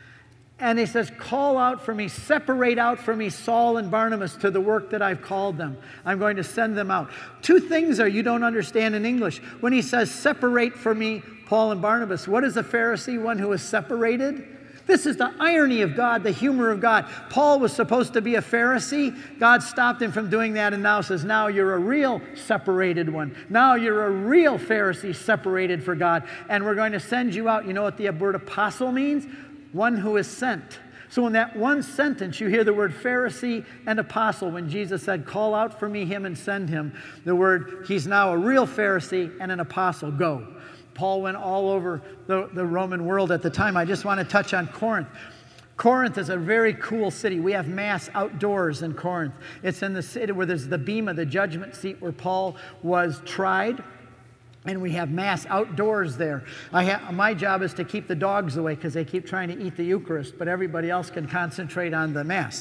And he says, call out for me, separate out for me Saul and Barnabas to the work that I've called them. I'm going to send them out. 2 things you don't understand in English. When he says, separate for me Paul and Barnabas, what is a Pharisee? One who is separated? This is the irony of God, the humor of God. Paul was supposed to be a Pharisee. God stopped him from doing that and now says, now you're a real separated one. Now you're a real Pharisee separated for God. And we're going to send you out. You know what the word apostle means? One who is sent. So in that one sentence, you hear the word Pharisee and apostle. When Jesus said, call out for me him and send him, the word, he's now a real Pharisee and an apostle. Go. Paul went all over the Roman world at the time. I just want to touch on Corinth. Corinth is a very cool city. We have Mass outdoors in Corinth. It's in the city where there's the bema, the judgment seat where Paul was tried. And we have Mass outdoors there. My job is to keep the dogs away because they keep trying to eat the Eucharist, but everybody else can concentrate on the Mass.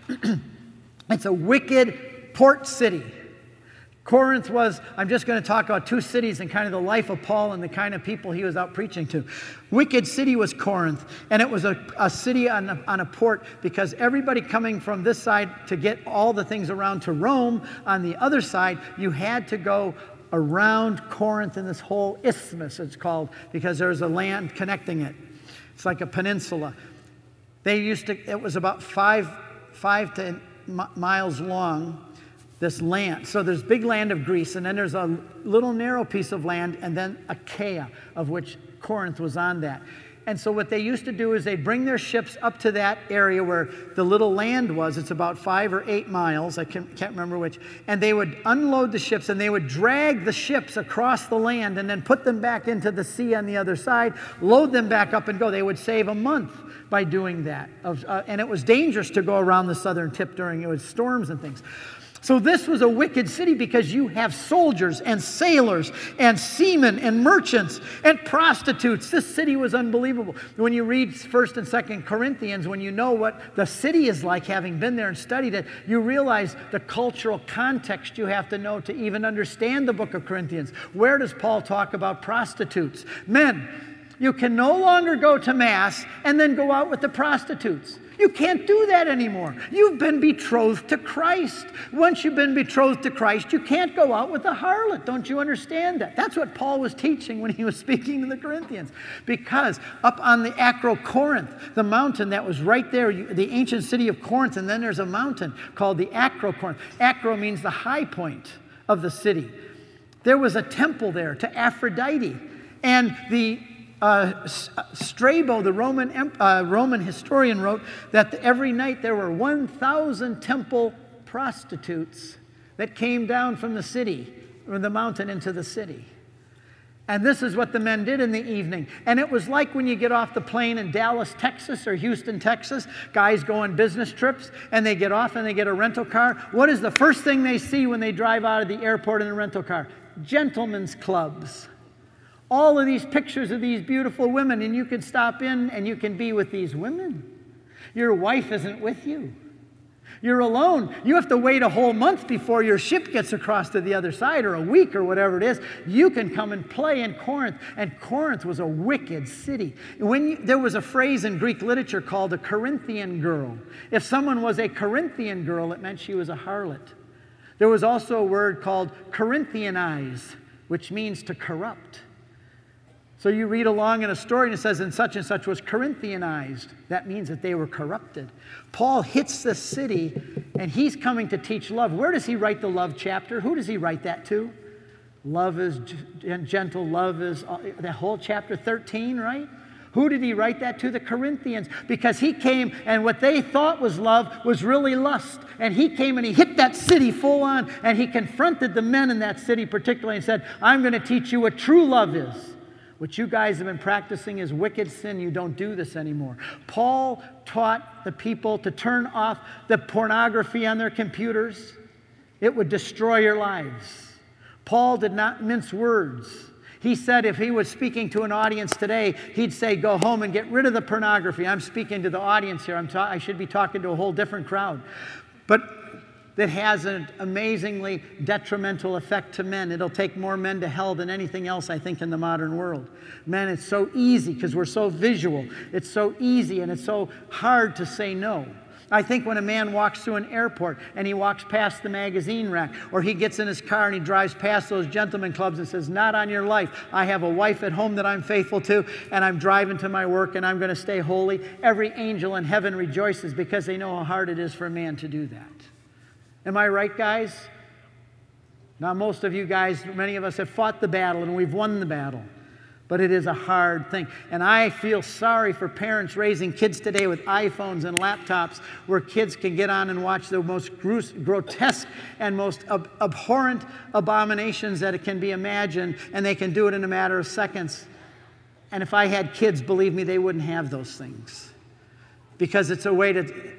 It's a wicked port city. Corinth was, I'm just going to talk about 2 cities and kind of the life of Paul and the kind of people he was out preaching to. Wicked city was Corinth, and it was a city on a port because everybody coming from this side to get all the things around to Rome, on the other side, you had to go around Corinth in this whole isthmus, it's called, because there's a land connecting it. It's like a peninsula. It was about five miles long, this land. So there's big land of Greece, and then there's a little narrow piece of land, and then Achaia, of which Corinth was on that. And so what they used to do is they'd bring their ships up to that area where the little land was. It's about 5 or 8 miles. I can't remember which. And they would unload the ships, and they would drag the ships across the land and then put them back into the sea on the other side, load them back up and go. They would save a month by doing that. And it was dangerous to go around the southern tip during storms and things. So this was a wicked city because you have soldiers and sailors and seamen and merchants and prostitutes. This city was unbelievable. When you read 1st and 2nd Corinthians, when you know what the city is like, having been there and studied it, you realize the cultural context you have to know to even understand the book of Corinthians. Where does Paul talk about prostitutes? Men, you can no longer go to Mass and then go out with the prostitutes. You can't do that anymore. You've been betrothed to Christ. Once you've been betrothed to Christ, you can't go out with a harlot. Don't you understand that? That's what Paul was teaching when he was speaking to the Corinthians. Because up on the Acrocorinth, the mountain that was right there, the ancient city of Corinth, and then there's a mountain called the Acrocorinth. Acro means the high point of the city. There was a temple there to Aphrodite. And the Strabo, the Roman historian, wrote that every night there were 1,000 temple prostitutes that came down from the city, or the mountain into the city. And this is what the men did in the evening. And it was like when you get off the plane in Dallas, Texas, or Houston, Texas, guys go on business trips, and they get off and they get a rental car. What is the first thing they see when they drive out of the airport in a rental car? Gentlemen's clubs. All of these pictures of these beautiful women, and you can stop in and you can be with these women. Your wife isn't with you. You're alone. You have to wait a whole month before your ship gets across to the other side, or a week, or whatever it is. You can come and play in Corinth, and Corinth was a wicked city. There was a phrase in Greek literature called a Corinthian girl. If someone was a Corinthian girl, it meant she was a harlot. There was also a word called Corinthianize, which means to corrupt. So you read along in a story and it says, and such was Corinthianized. That means that they were corrupted. Paul hits this city and he's coming to teach love. Where does he write the love chapter? Who does he write that to? Love is gentle, love is, the whole chapter 13, right? Who did he write that to? The Corinthians. Because he came and what they thought was love was really lust. And he came and he hit that city full on and he confronted the men in that city particularly and said, I'm going to teach you what true love is. What you guys have been practicing is wicked sin. You don't do this anymore. Paul taught the people to turn off the pornography on their computers. It would destroy your lives. Paul did not mince words. He said if he was speaking to an audience today, he'd say, go home and get rid of the pornography. I'm speaking to the audience here. I should be talking to a whole different crowd. But that has an amazingly detrimental effect to men. It'll take more men to hell than anything else, I think, in the modern world. Men, it's so easy because we're so visual. It's so easy and it's so hard to say no. I think when a man walks through an airport and he walks past the magazine rack, or he gets in his car and he drives past those gentlemen clubs and says, not on your life. I have a wife at home that I'm faithful to, and I'm driving to my work and I'm going to stay holy. Every angel in heaven rejoices because they know how hard it is for a man to do that. Am I right, guys? Now, most of you guys, many of us have fought the battle and we've won the battle. But it is a hard thing. And I feel sorry for parents raising kids today with iPhones and laptops where kids can get on and watch the most grotesque and most abhorrent abominations that it can be imagined, and they can do it in a matter of seconds. And if I had kids, believe me, they wouldn't have those things. Because it's a way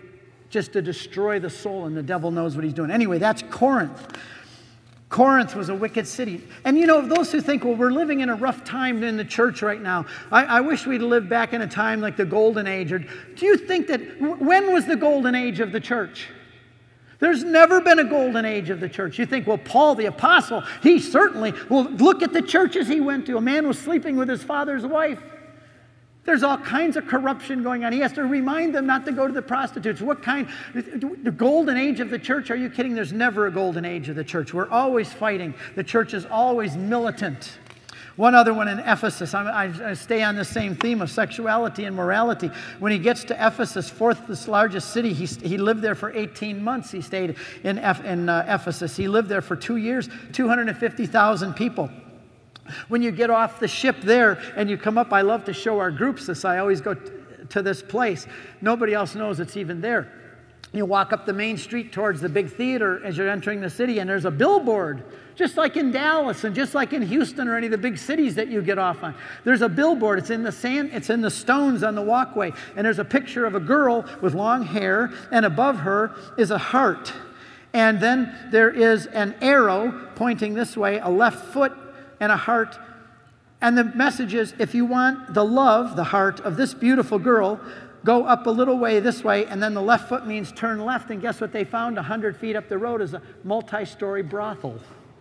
to destroy the soul, and the devil knows what he's doing. Anyway, that's Corinth. Corinth was a wicked city. And you know, those who think, well, we're living in a rough time in the church right now. I wish we'd lived back in a time like the golden age. Or do you think that, when was the golden age of the church? There's never been a golden age of the church. You think, well, Paul the apostle, he certainly, well, look at the churches he went to. A man was sleeping with his father's wife. There's all kinds of corruption going on. He has to remind them not to go to the prostitutes. What kind? The golden age of the church? Are you kidding? There's never a golden age of the church. We're always fighting. The church is always militant. One other one in Ephesus. I stay on the same theme of sexuality and morality. When he gets to Ephesus, fourth largest city, he lived there for 18 months. He stayed in Ephesus. He lived there for 2 years, 250,000 people. When you get off the ship there and you come up, I love to show our groups this. I always go to this place. Nobody else knows it's even there. You walk up the main street towards the big theater as you're entering the city, and there's a billboard, just like in Dallas and just like in Houston or any of the big cities that you get off on. There's a billboard. It's in the sand. It's in the stones on the walkway. And there's a picture of a girl with long hair, and above her is a heart. And then there is an arrow pointing this way, a left foot, and a heart. And the message is, if you want the love, the heart of this beautiful girl, go up a little way this way, and then the left foot means turn left. And guess what they found 100 feet up the road is a multi-story brothel.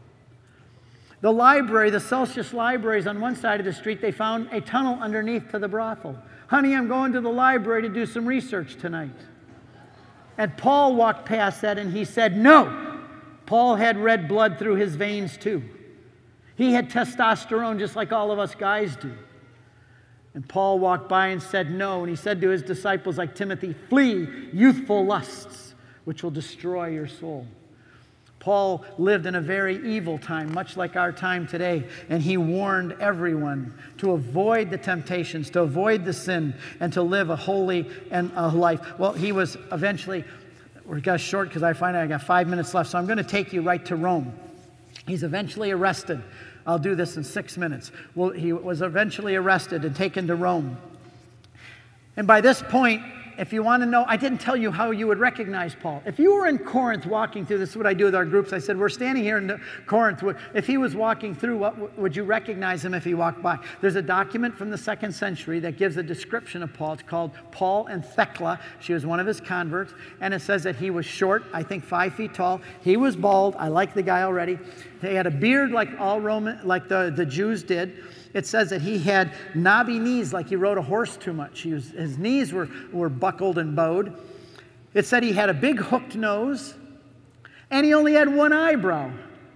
The library, the Celsius Library is on one side of the street. They found a tunnel underneath to the brothel. Honey, I'm going to the library to do some research tonight. And Paul walked past that and he said, no. Paul had red blood through his veins too. He had testosterone just like all of us guys do. And Paul walked by and said no. And he said to his disciples like Timothy, flee youthful lusts, which will destroy your soul. Paul lived in a very evil time, much like our time today. And he warned everyone to avoid the temptations, to avoid the sin, and to live a holy and a life. Well, he was eventually, we got short because I got 5 minutes left. So I'm going to take you right to Rome. He's eventually arrested. I'll do this in 6 minutes. Well, he was eventually arrested and taken to Rome. And by this point, if you want to know, I didn't tell you how you would recognize Paul. If you were in Corinth walking through, this is what I do with our groups. I said, we're standing here in Corinth. If he was walking through, what would you recognize him if he walked by? There's a document from the 2nd century that gives a description of Paul. It's called Paul and Thecla. She was one of his converts. And it says that he was short, I think 5 feet tall. He was bald. I like the guy already. He had a beard like all Roman, like the Jews did. It says that he had knobby knees, like he rode a horse too much. His knees were buckled and bowed. It said he had a big hooked nose, and he only had one eyebrow.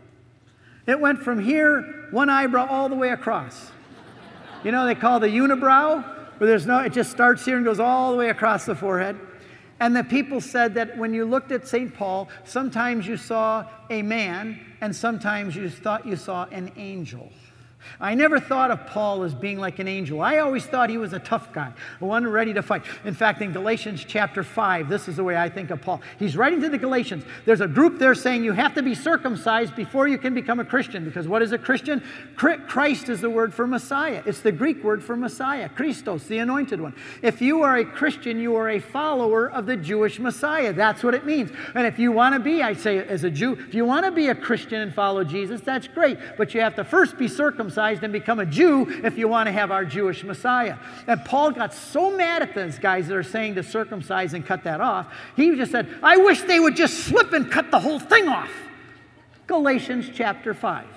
It went from here, one eyebrow, all the way across. You know, they call the unibrow, where it just starts here and goes all the way across the forehead. And the people said that when you looked at St. Paul, sometimes you saw a man, and sometimes you thought you saw an angel. I never thought of Paul as being like an angel. I always thought he was a tough guy, one ready to fight. In fact, in Galatians chapter 5, this is the way I think of Paul. He's writing to the Galatians. There's a group there saying you have to be circumcised before you can become a Christian. Because what is a Christian? Christ is the word for Messiah. It's the Greek word for Messiah, Christos, the anointed one. If you are a Christian, you are a follower of the Jewish Messiah. That's what it means. And if you want to be, I say as a Jew, if you want to be a Christian and follow Jesus, that's great. But you have to first be circumcised and become a Jew if you want to have our Jewish Messiah. And Paul got so mad at those guys that are saying to circumcise and cut that off, he just said, I wish they would just slip and cut the whole thing off. Galatians chapter 5.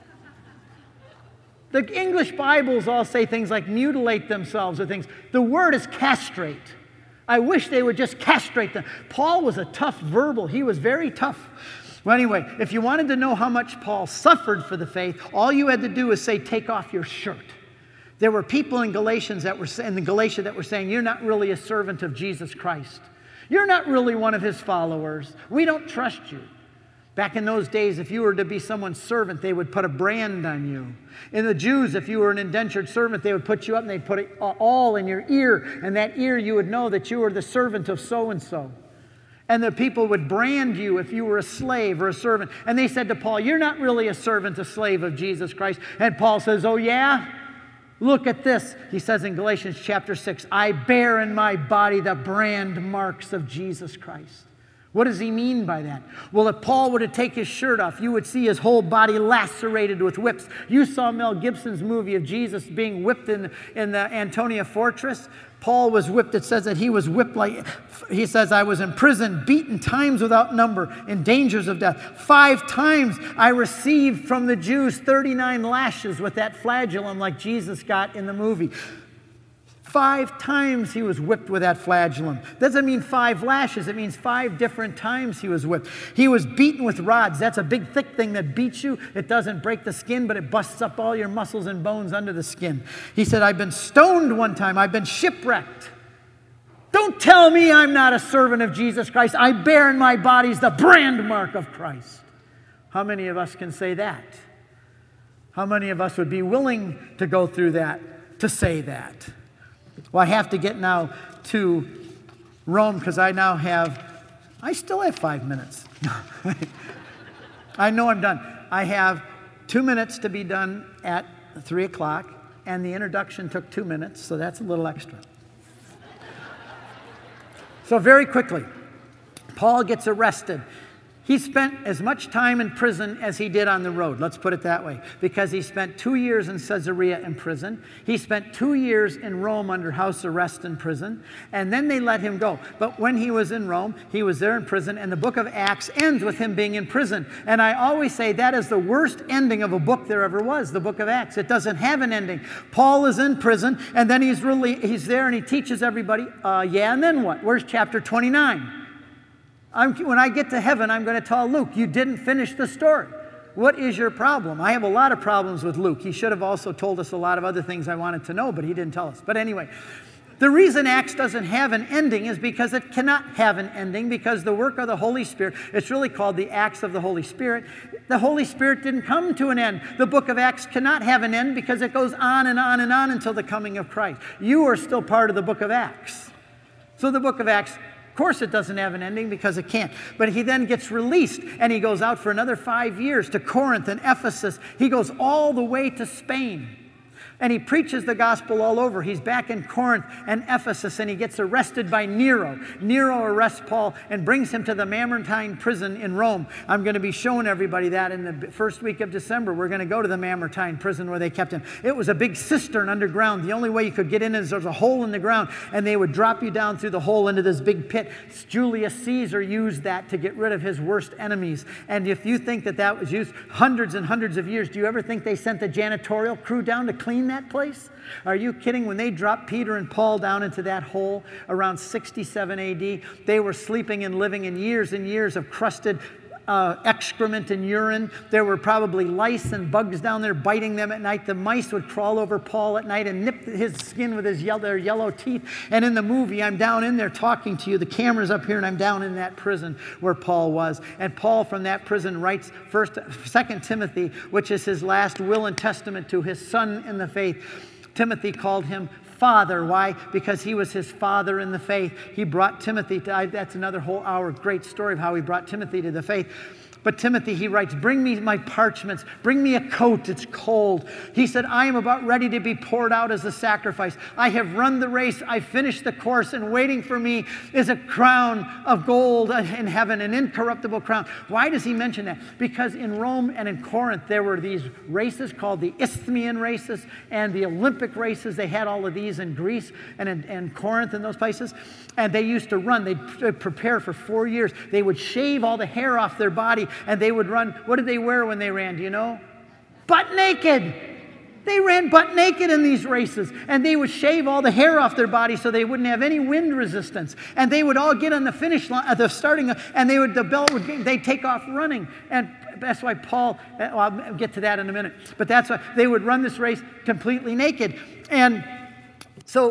The English Bibles all say things like mutilate themselves or things. The word is castrate. I wish they would just castrate them. Paul was a tough verbal. He was very tough. Well, anyway, if you wanted to know how much Paul suffered for the faith, all you had to do was say, take off your shirt. There were people in Galatia that were saying, you're not really a servant of Jesus Christ. You're not really one of his followers. We don't trust you. Back in those days, if you were to be someone's servant, they would put a brand on you. In the Jews, if you were an indentured servant, they would put you up and they'd put it all in your ear. And that ear, you would know that you were the servant of so-and-so. And the people would brand you if you were a slave or a servant. And they said to Paul, you're not really a servant, a slave of Jesus Christ. And Paul says, oh yeah? Look at this. He says in Galatians chapter 6, I bear in my body the brand marks of Jesus Christ. What does he mean by that? Well, if Paul were to take his shirt off, you would see his whole body lacerated with whips. You saw Mel Gibson's movie of Jesus being whipped in the Antonia Fortress. Paul was whipped. It says that he was whipped he says, I was in prison, beaten times without number, in dangers of death. 5 times I received from the Jews 39 lashes with that flagellum like Jesus got in the movie. 5 times he was whipped with that flagellum. Doesn't mean 5 lashes. It means 5 different times he was whipped. He was beaten with rods. That's a big, thick thing that beats you. It doesn't break the skin, but it busts up all your muscles and bones under the skin. He said, I've been stoned one time. I've been shipwrecked. Don't tell me I'm not a servant of Jesus Christ. I bear in my body the brand mark of Christ. How many of us can say that? How many of us would be willing to go through that, to say that? Well, I have to get now to Rome because I still have 5 minutes. I know I'm done. I have 2 minutes to be done at 3 o'clock, and the introduction took 2 minutes, so that's a little extra. So very quickly, Paul gets arrested. He spent as much time in prison as he did on the road, let's put it that way, because he spent 2 years in Caesarea in prison. He spent 2 years in Rome under house arrest in prison, and then they let him go. But when he was in Rome, he was there in prison, and the book of Acts ends with him being in prison. And I always say that is the worst ending of a book there ever was, the book of Acts. It doesn't have an ending. Paul is in prison, and then he's there and he teaches everybody, and then what? Where's chapter 29? When I get to heaven, I'm going to tell Luke, you didn't finish the story. What is your problem? I have a lot of problems with Luke. He should have also told us a lot of other things I wanted to know, but he didn't tell us. But anyway, the reason Acts doesn't have an ending is because it cannot have an ending, because the work of the Holy Spirit, it's really called the Acts of the Holy Spirit. The Holy Spirit didn't come to an end. The book of Acts cannot have an end because it goes on and on and on until the coming of Christ. You are still part of the book of Acts. So the book of Acts, of course it doesn't have an ending because it can't. But he then gets released and he goes out for another 5 years to Corinth and Ephesus. He goes all the way to Spain. And he preaches the gospel all over. He's back in Corinth and Ephesus, and he gets arrested by Nero. Nero arrests Paul and brings him to the Mamertine prison in Rome. I'm going to be showing everybody that in the first week of December. We're going to go to the Mamertine prison where they kept him. It was a big cistern underground. The only way you could get in is there's a hole in the ground, and they would drop you down through the hole into this big pit. Julius Caesar used that to get rid of his worst enemies. And if you think that that was used hundreds and hundreds of years, do you ever think they sent the janitorial crew down to clean that place? Are you kidding? When they dropped Peter and Paul down into that hole around 67 AD, they were sleeping and living in years and years of crusted excrement and urine. There were probably lice and bugs down there biting them at night. The mice would crawl over Paul at night and nip his skin with their yellow teeth. And in the movie, I'm down in there talking to you. The camera's up here, and I'm down in that prison where Paul was. And Paul from that prison writes 2 Timothy, which is his last will and testament to his son in the faith. Timothy called him Father. Why? Because he was his father in the faith. He brought Timothy to, that's another whole hour, great story of how he brought Timothy to the faith. But Timothy, he writes, bring me my parchments, bring me a coat, it's cold. He said, I am about ready to be poured out as a sacrifice. I have run the race, I finished the course, and waiting for me is a crown of gold in heaven, an incorruptible crown. Why does he mention that? Because in Rome and in Corinth, there were these races called the Isthmian races and the Olympic races. They had all of these in Greece and in Corinth and those places. And they used to run, they'd prepare for 4 years. They would shave all the hair off their body, and they would run. What did they wear when they ran? Do you know? Butt naked. They ran butt naked in these races, and they would shave all the hair off their body so they wouldn't have any wind resistance. And they would all get on the finish line, at the starting, and they'd take off running. And that's why Paul, I'll get to that in a minute, but that's why they would run this race completely naked. And so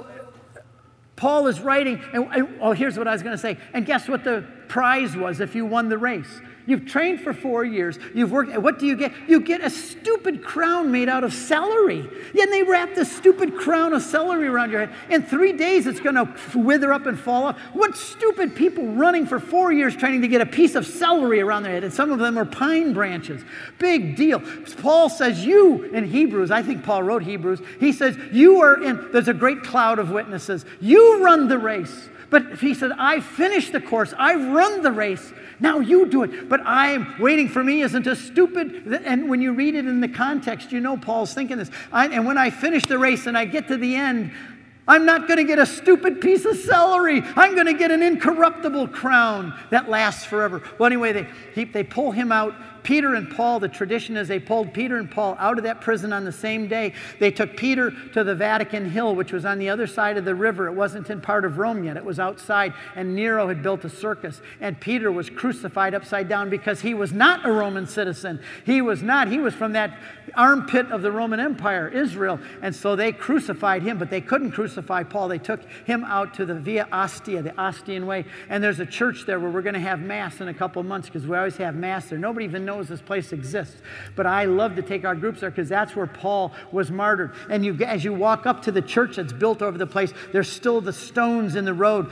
Paul is writing, and here's what I was going to say. And guess what the prize was if you won the race? You've trained for 4 years. You've worked. What do you get? You get a stupid crown made out of celery. Yeah, and they wrap this stupid crown of celery around your head. In 3 days, it's going to wither up and fall off. What stupid people running for 4 years trying to get a piece of celery around their head? And some of them are pine branches. Big deal. Paul says you in Hebrews, I think Paul wrote Hebrews, he says there's a great cloud of witnesses. You run the race. But he said, I finished the course. I've run the race. Now you do it. But waiting for me isn't a stupid. And when you read it in the context, you know Paul's thinking this. And when I finish the race and I get to the end, I'm not going to get a stupid piece of celery. I'm going to get an incorruptible crown that lasts forever. Well, anyway, they pull him out. Peter and Paul, the tradition is they pulled Peter and Paul out of that prison on the same day. They took Peter to the Vatican Hill, which was on the other side of the river. It wasn't in part of Rome yet. It was outside, and Nero had built a circus. And Peter was crucified upside down because he was not a Roman citizen. He was not. He was from that armpit of the Roman Empire, Israel. And so they crucified him, but they couldn't crucify Paul. They took him out to the Via Ostia, the Ostian Way. And there's a church there where we're going to have Mass in a couple of months, because we always have Mass there. Nobody even knows this place exists. But I love to take our groups there because that's where Paul was martyred. And as you walk up to the church that's built over the place, there's still the stones in the road,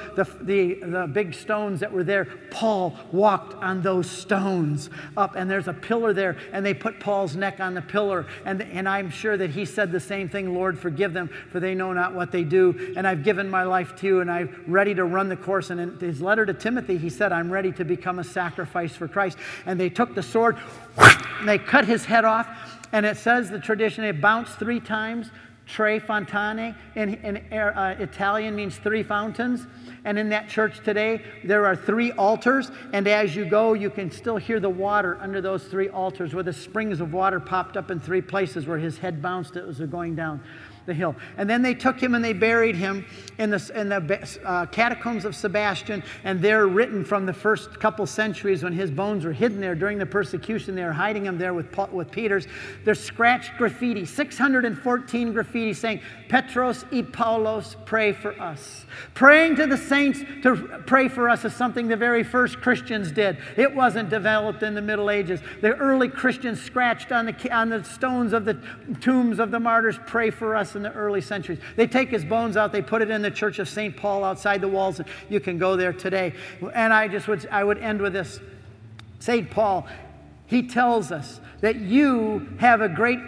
the big stones that were there. Paul walked on those stones up, and there's a pillar there, and they put Paul's neck on the pillar. And I'm sure that he said the same thing, Lord, forgive them, for they know not what they do. And I've given my life to you, and I'm ready to run the course. And in his letter to Timothy, he said, I'm ready to become a sacrifice for Christ. And they took the sword, and they cut his head off. And it says, the tradition, it bounced 3 times. Tre fontane in Italian means 3 fountains. And in that church today, there are 3 altars. And as you go, you can still hear the water under those 3 altars, where the springs of water popped up in 3 places where his head bounced as it was going down the hill. And then they took him and they buried him in the catacombs of Sebastian, and they're written from the first couple centuries when his bones were hidden there during the persecution. They were hiding him there with Peter's. There's scratched graffiti, 614 graffiti saying, Petros y Paulos, pray for us. Praying to the saints to pray for us is something the very first Christians did. It wasn't developed in the Middle Ages. The early Christians scratched on the stones of the tombs of the martyrs, pray for us, in the early centuries. They take his bones out, they put it in the church of St. Paul outside the walls, and you can go there today. And I would end with this. St. Paul, he tells us that you have a great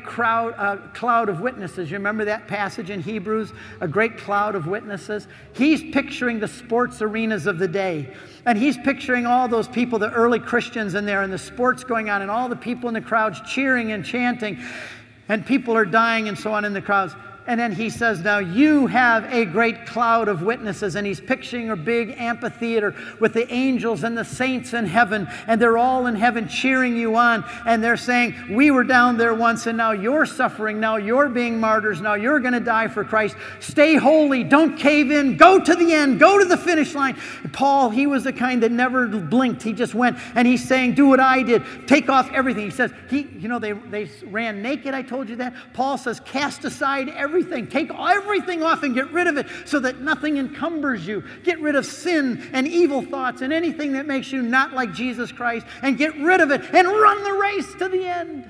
cloud of witnesses. You remember that passage in Hebrews? A great cloud of witnesses. He's picturing the sports arenas of the day. And he's picturing all those people, the early Christians in there, and the sports going on, and all the people in the crowds cheering and chanting. And people are dying and so on in the crowds. And then he says, now you have a great cloud of witnesses. And he's picturing a big amphitheater with the angels and the saints in heaven. And they're all in heaven cheering you on. And they're saying, we were down there once, and now you're suffering. Now you're being martyrs. Now you're going to die for Christ. Stay holy. Don't cave in. Go to the end. Go to the finish line. And Paul, he was the kind that never blinked. He just went. And he's saying, do what I did. Take off everything. He says, they ran naked. I told you that. Paul says, cast aside everything. Take everything off and get rid of it so that nothing encumbers you. Get rid of sin and evil thoughts and anything that makes you not like Jesus Christ, and get rid of it and run the race to the end.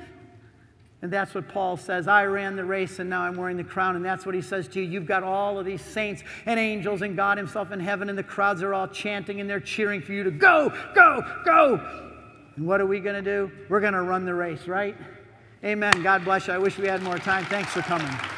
And that's what Paul says. I ran the race and now I'm wearing the crown. And that's what he says to you. You've got all of these saints and angels and God himself in heaven, and the crowds are all chanting and they're cheering for you to go, go, go. And what are we going to do? We're going to run the race, right? Amen. God bless you. I wish we had more time. Thanks for coming.